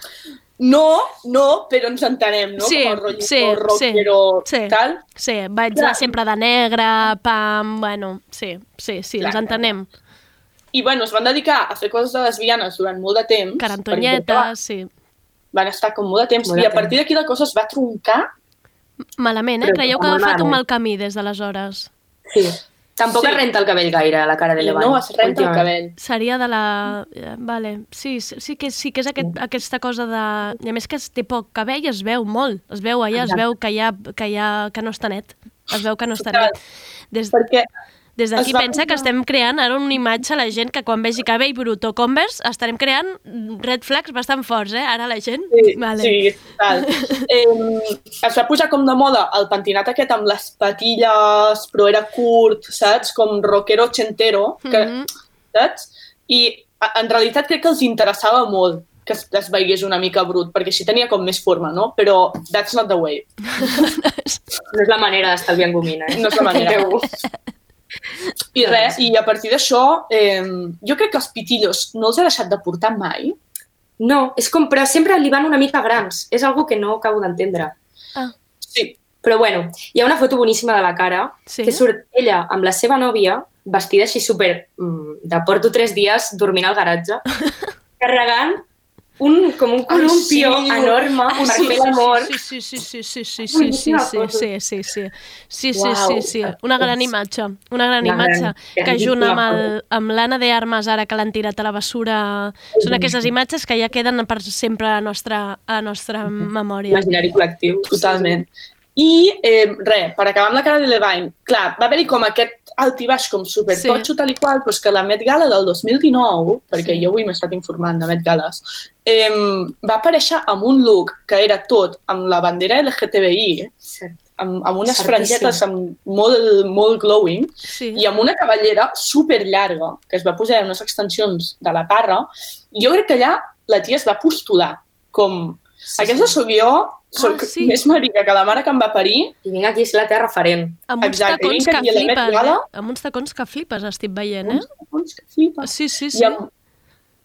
no, però ens entenem, no? Sí, com el rockero, tal. Sí, vaig anar sempre de negre, pam, sí, ens entenem. I, es van dedicar a fer coses de lesbianes durant molt de temps. Carantonyetes, sí. Van estar com molt de temps, i a partir d'aquí la cosa es va troncar. Malament, Creieu que ha agafat un mal camí des d'aleshores? Sí. Tampoc es renta el cabell gaire, la Cara Delevingne. No, es renta el cabell. Seria de la... Vale. Sí que és aquesta cosa de... I a més que té poc cabell, es veu molt. Es veu allà, es veu que no està net. Es veu que no està net. Perquè... Des d'aquí pensa que estem creant ara una imatge a la gent que quan vegi cabell brut o Converse estarem creant red flags bastant forts, ara la gent? Sí, total. Es va posar com de moda el pentinat aquest amb les patilles, però era curt, saps? Com rockero ochentero, saps? I en realitat crec que els interessava molt que es veiés una mica brut, perquè així tenia com més forma, no? Però that's not the way. No és la manera d'estalviar en gomina, No és la manera. I res, i a partir d'això, jo crec que els pitillos no els he deixat de portar mai. No, és com, però sempre li van una mica grans. És algo que no acabo d'entendre. Sí. Però bueno, hi ha una foto boníssima de la Cara, que surt ella amb la seva nòvia, vestida així super de porto 3 dies dormint al garatge, carregant com un columpio enorme per fer l'amor. Sí. Una gran imatge. Que junt amb l'Anna de Armas, ara que l'han tirat a la bessura, són aquestes imatges que ja queden per sempre a la nostra memòria. Imaginari col·lectiu. Totalment. I per acabar amb la Cara Delevingne, clar, va haver-hi com aquest altibaix com supertotxo tal i qual, però és que la Met Gala del 2019, perquè jo avui m'he estat informant de Met Gales, va aparèixer amb un look que era tot amb la bandera LGTBI, amb unes frangetes molt glowing, i amb una cabellera superllarga, que es va posar en unes extensions de la parra, i jo crec que allà la tia es va postular, com... Aquesta sóc jo, soc més marica que la mare que em va parir. I vinc aquí, és la teva referent. Amb uns tacons que flipes, Amb uns tacons que flipes, estic veient, Uns tacons que flipes. Sí.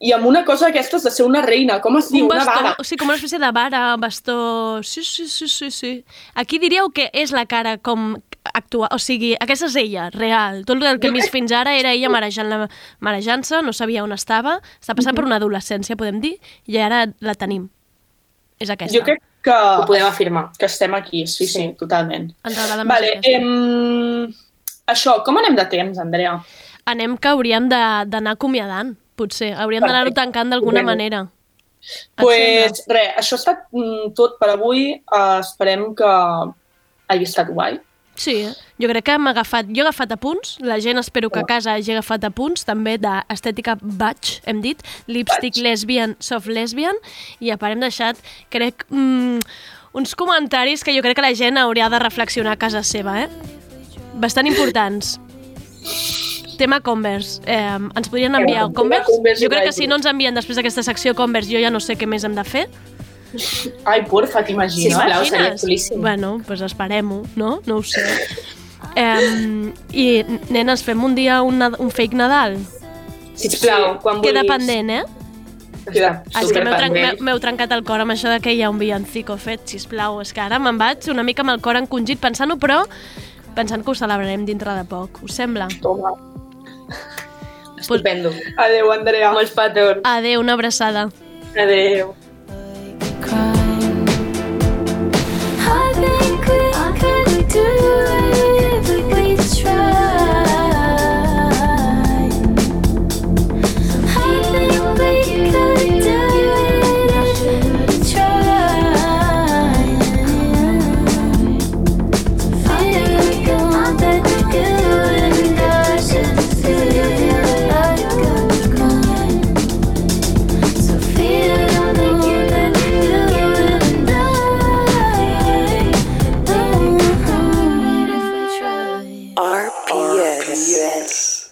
I amb una cosa aquestes de ser una reina, com es diu? Bastó, una vara. O sigui, com una espècie de vara, bastó... Sí. Aquí diríeu que és la cara com actual, o sigui, aquesta és ella, real. Tot el que hem vist fins ara era ella marejant-se, no sabia on estava, està passant per una adolescència, podem dir, i ara la tenim. És aquesta. Jo crec que... Ho podem afirmar. Que estem aquí, sí, totalment. Enredada Vale, això, com anem de temps, Andrea? Anem que hauríem d'anar acomiadant, potser. Hauríem d'anar-ho tancant d'alguna manera. Pues res, això ha estat tot per avui. Esperem que hagi estat guai. Sí, jo crec que jo he agafat apunts, la gent espero que a casa hagi agafat apunts, també d'estètica batch, hem dit, lipstick lesbian, soft lesbian, i a part hem deixat, crec, uns comentaris que jo crec que la gent hauria de reflexionar a casa seva, bastant importants. Tema Converse. Ens podrien enviar Converse? Jo crec que si no ens envien després d'aquesta secció Converse, jo ja no sé què més hem de fer. Ai, porfa, t'imagines? Sisplau, seria xulíssim. Bueno, doncs esperem-ho, no? No ho sé. I, nenes, fem un dia un fake Nadal? Sisplau, quan vulguis. Queda pendent, És que m'heu trencat el cor amb això de que hi ha un villancico fet, sisplau. És que ara me'n vaig una mica amb el cor encongit pensant-ho, però pensant que ho celebrarem dintre de poc. Us sembla? Toma. Estupendo. Adéu, Andrea. Molts petons. Adéu, una abraçada. Adéu. I think we could do it if we tried. I think we could do it if we tried. Feel that good and I should feel like a crime. So feel that good and RPS.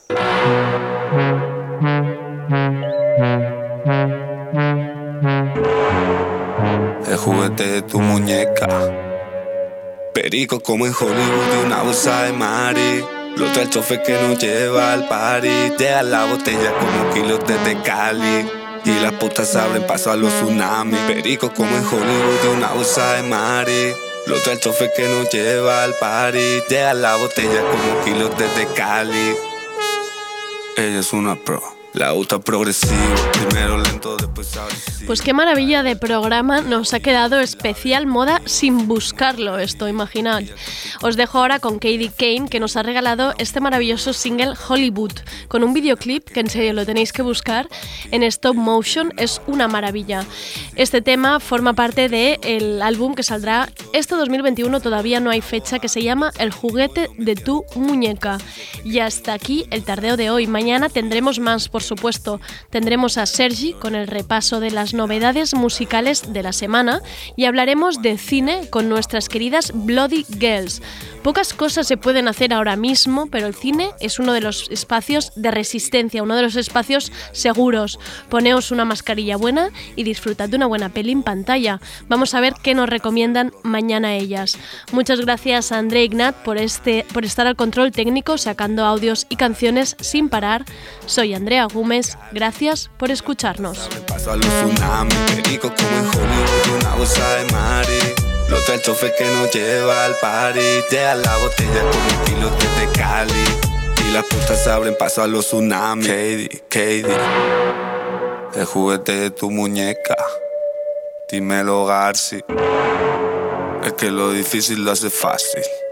El juguete de tu muñeca, perico como en Hollywood de una bolsa de mari. Lo trae el chofer que nos lleva al party. Llega la botella como kilos desde Cali. Y las putas abren paso a los tsunamis. Perico como en Hollywood de una bolsa de mari. Lo trae el chofer que nos lleva al party. Llega la botella como kilos desde Cali. Ella es una pro. La gusta progresivo, primero lento, después agresivo. Pues qué maravilla de programa nos ha quedado, especial moda sin buscarlo esto, imaginad. Os dejo ahora con Katie Kane, que nos ha regalado este maravilloso single Hollywood, con un videoclip que en serio lo tenéis que buscar en stop motion, es una maravilla. Este tema forma parte del álbum que saldrá este 2021, todavía no hay fecha, que se llama El juguete de tu muñeca. Y hasta aquí el tardeo de hoy. Mañana tendremos más, por supuesto. Tendremos a Sergi con el repaso de las novedades musicales de la semana y hablaremos de cine con nuestras queridas Bloody Girls. Pocas cosas se pueden hacer ahora mismo, pero el cine es uno de los espacios de resistencia, uno de los espacios seguros. Poneos una mascarilla buena y disfrutad de una buena peli en pantalla. Vamos a ver qué nos recomiendan mañana ellas. Muchas gracias a André Ignat por estar al control técnico, sacando audios y canciones sin parar. Soy Andrea Gómez, gracias por escucharnos. Paso a los tsunamis, perico como en Hollywood, una bolsa de mari. Lo trae el chofer que nos lleva al party. Llega la botella como kilos desde Cali. Y las putas abren paso a los tsunamis. Katie, el juguete de tu muñeca. Dímelo, Garci. Es que lo difícil lo hace fácil.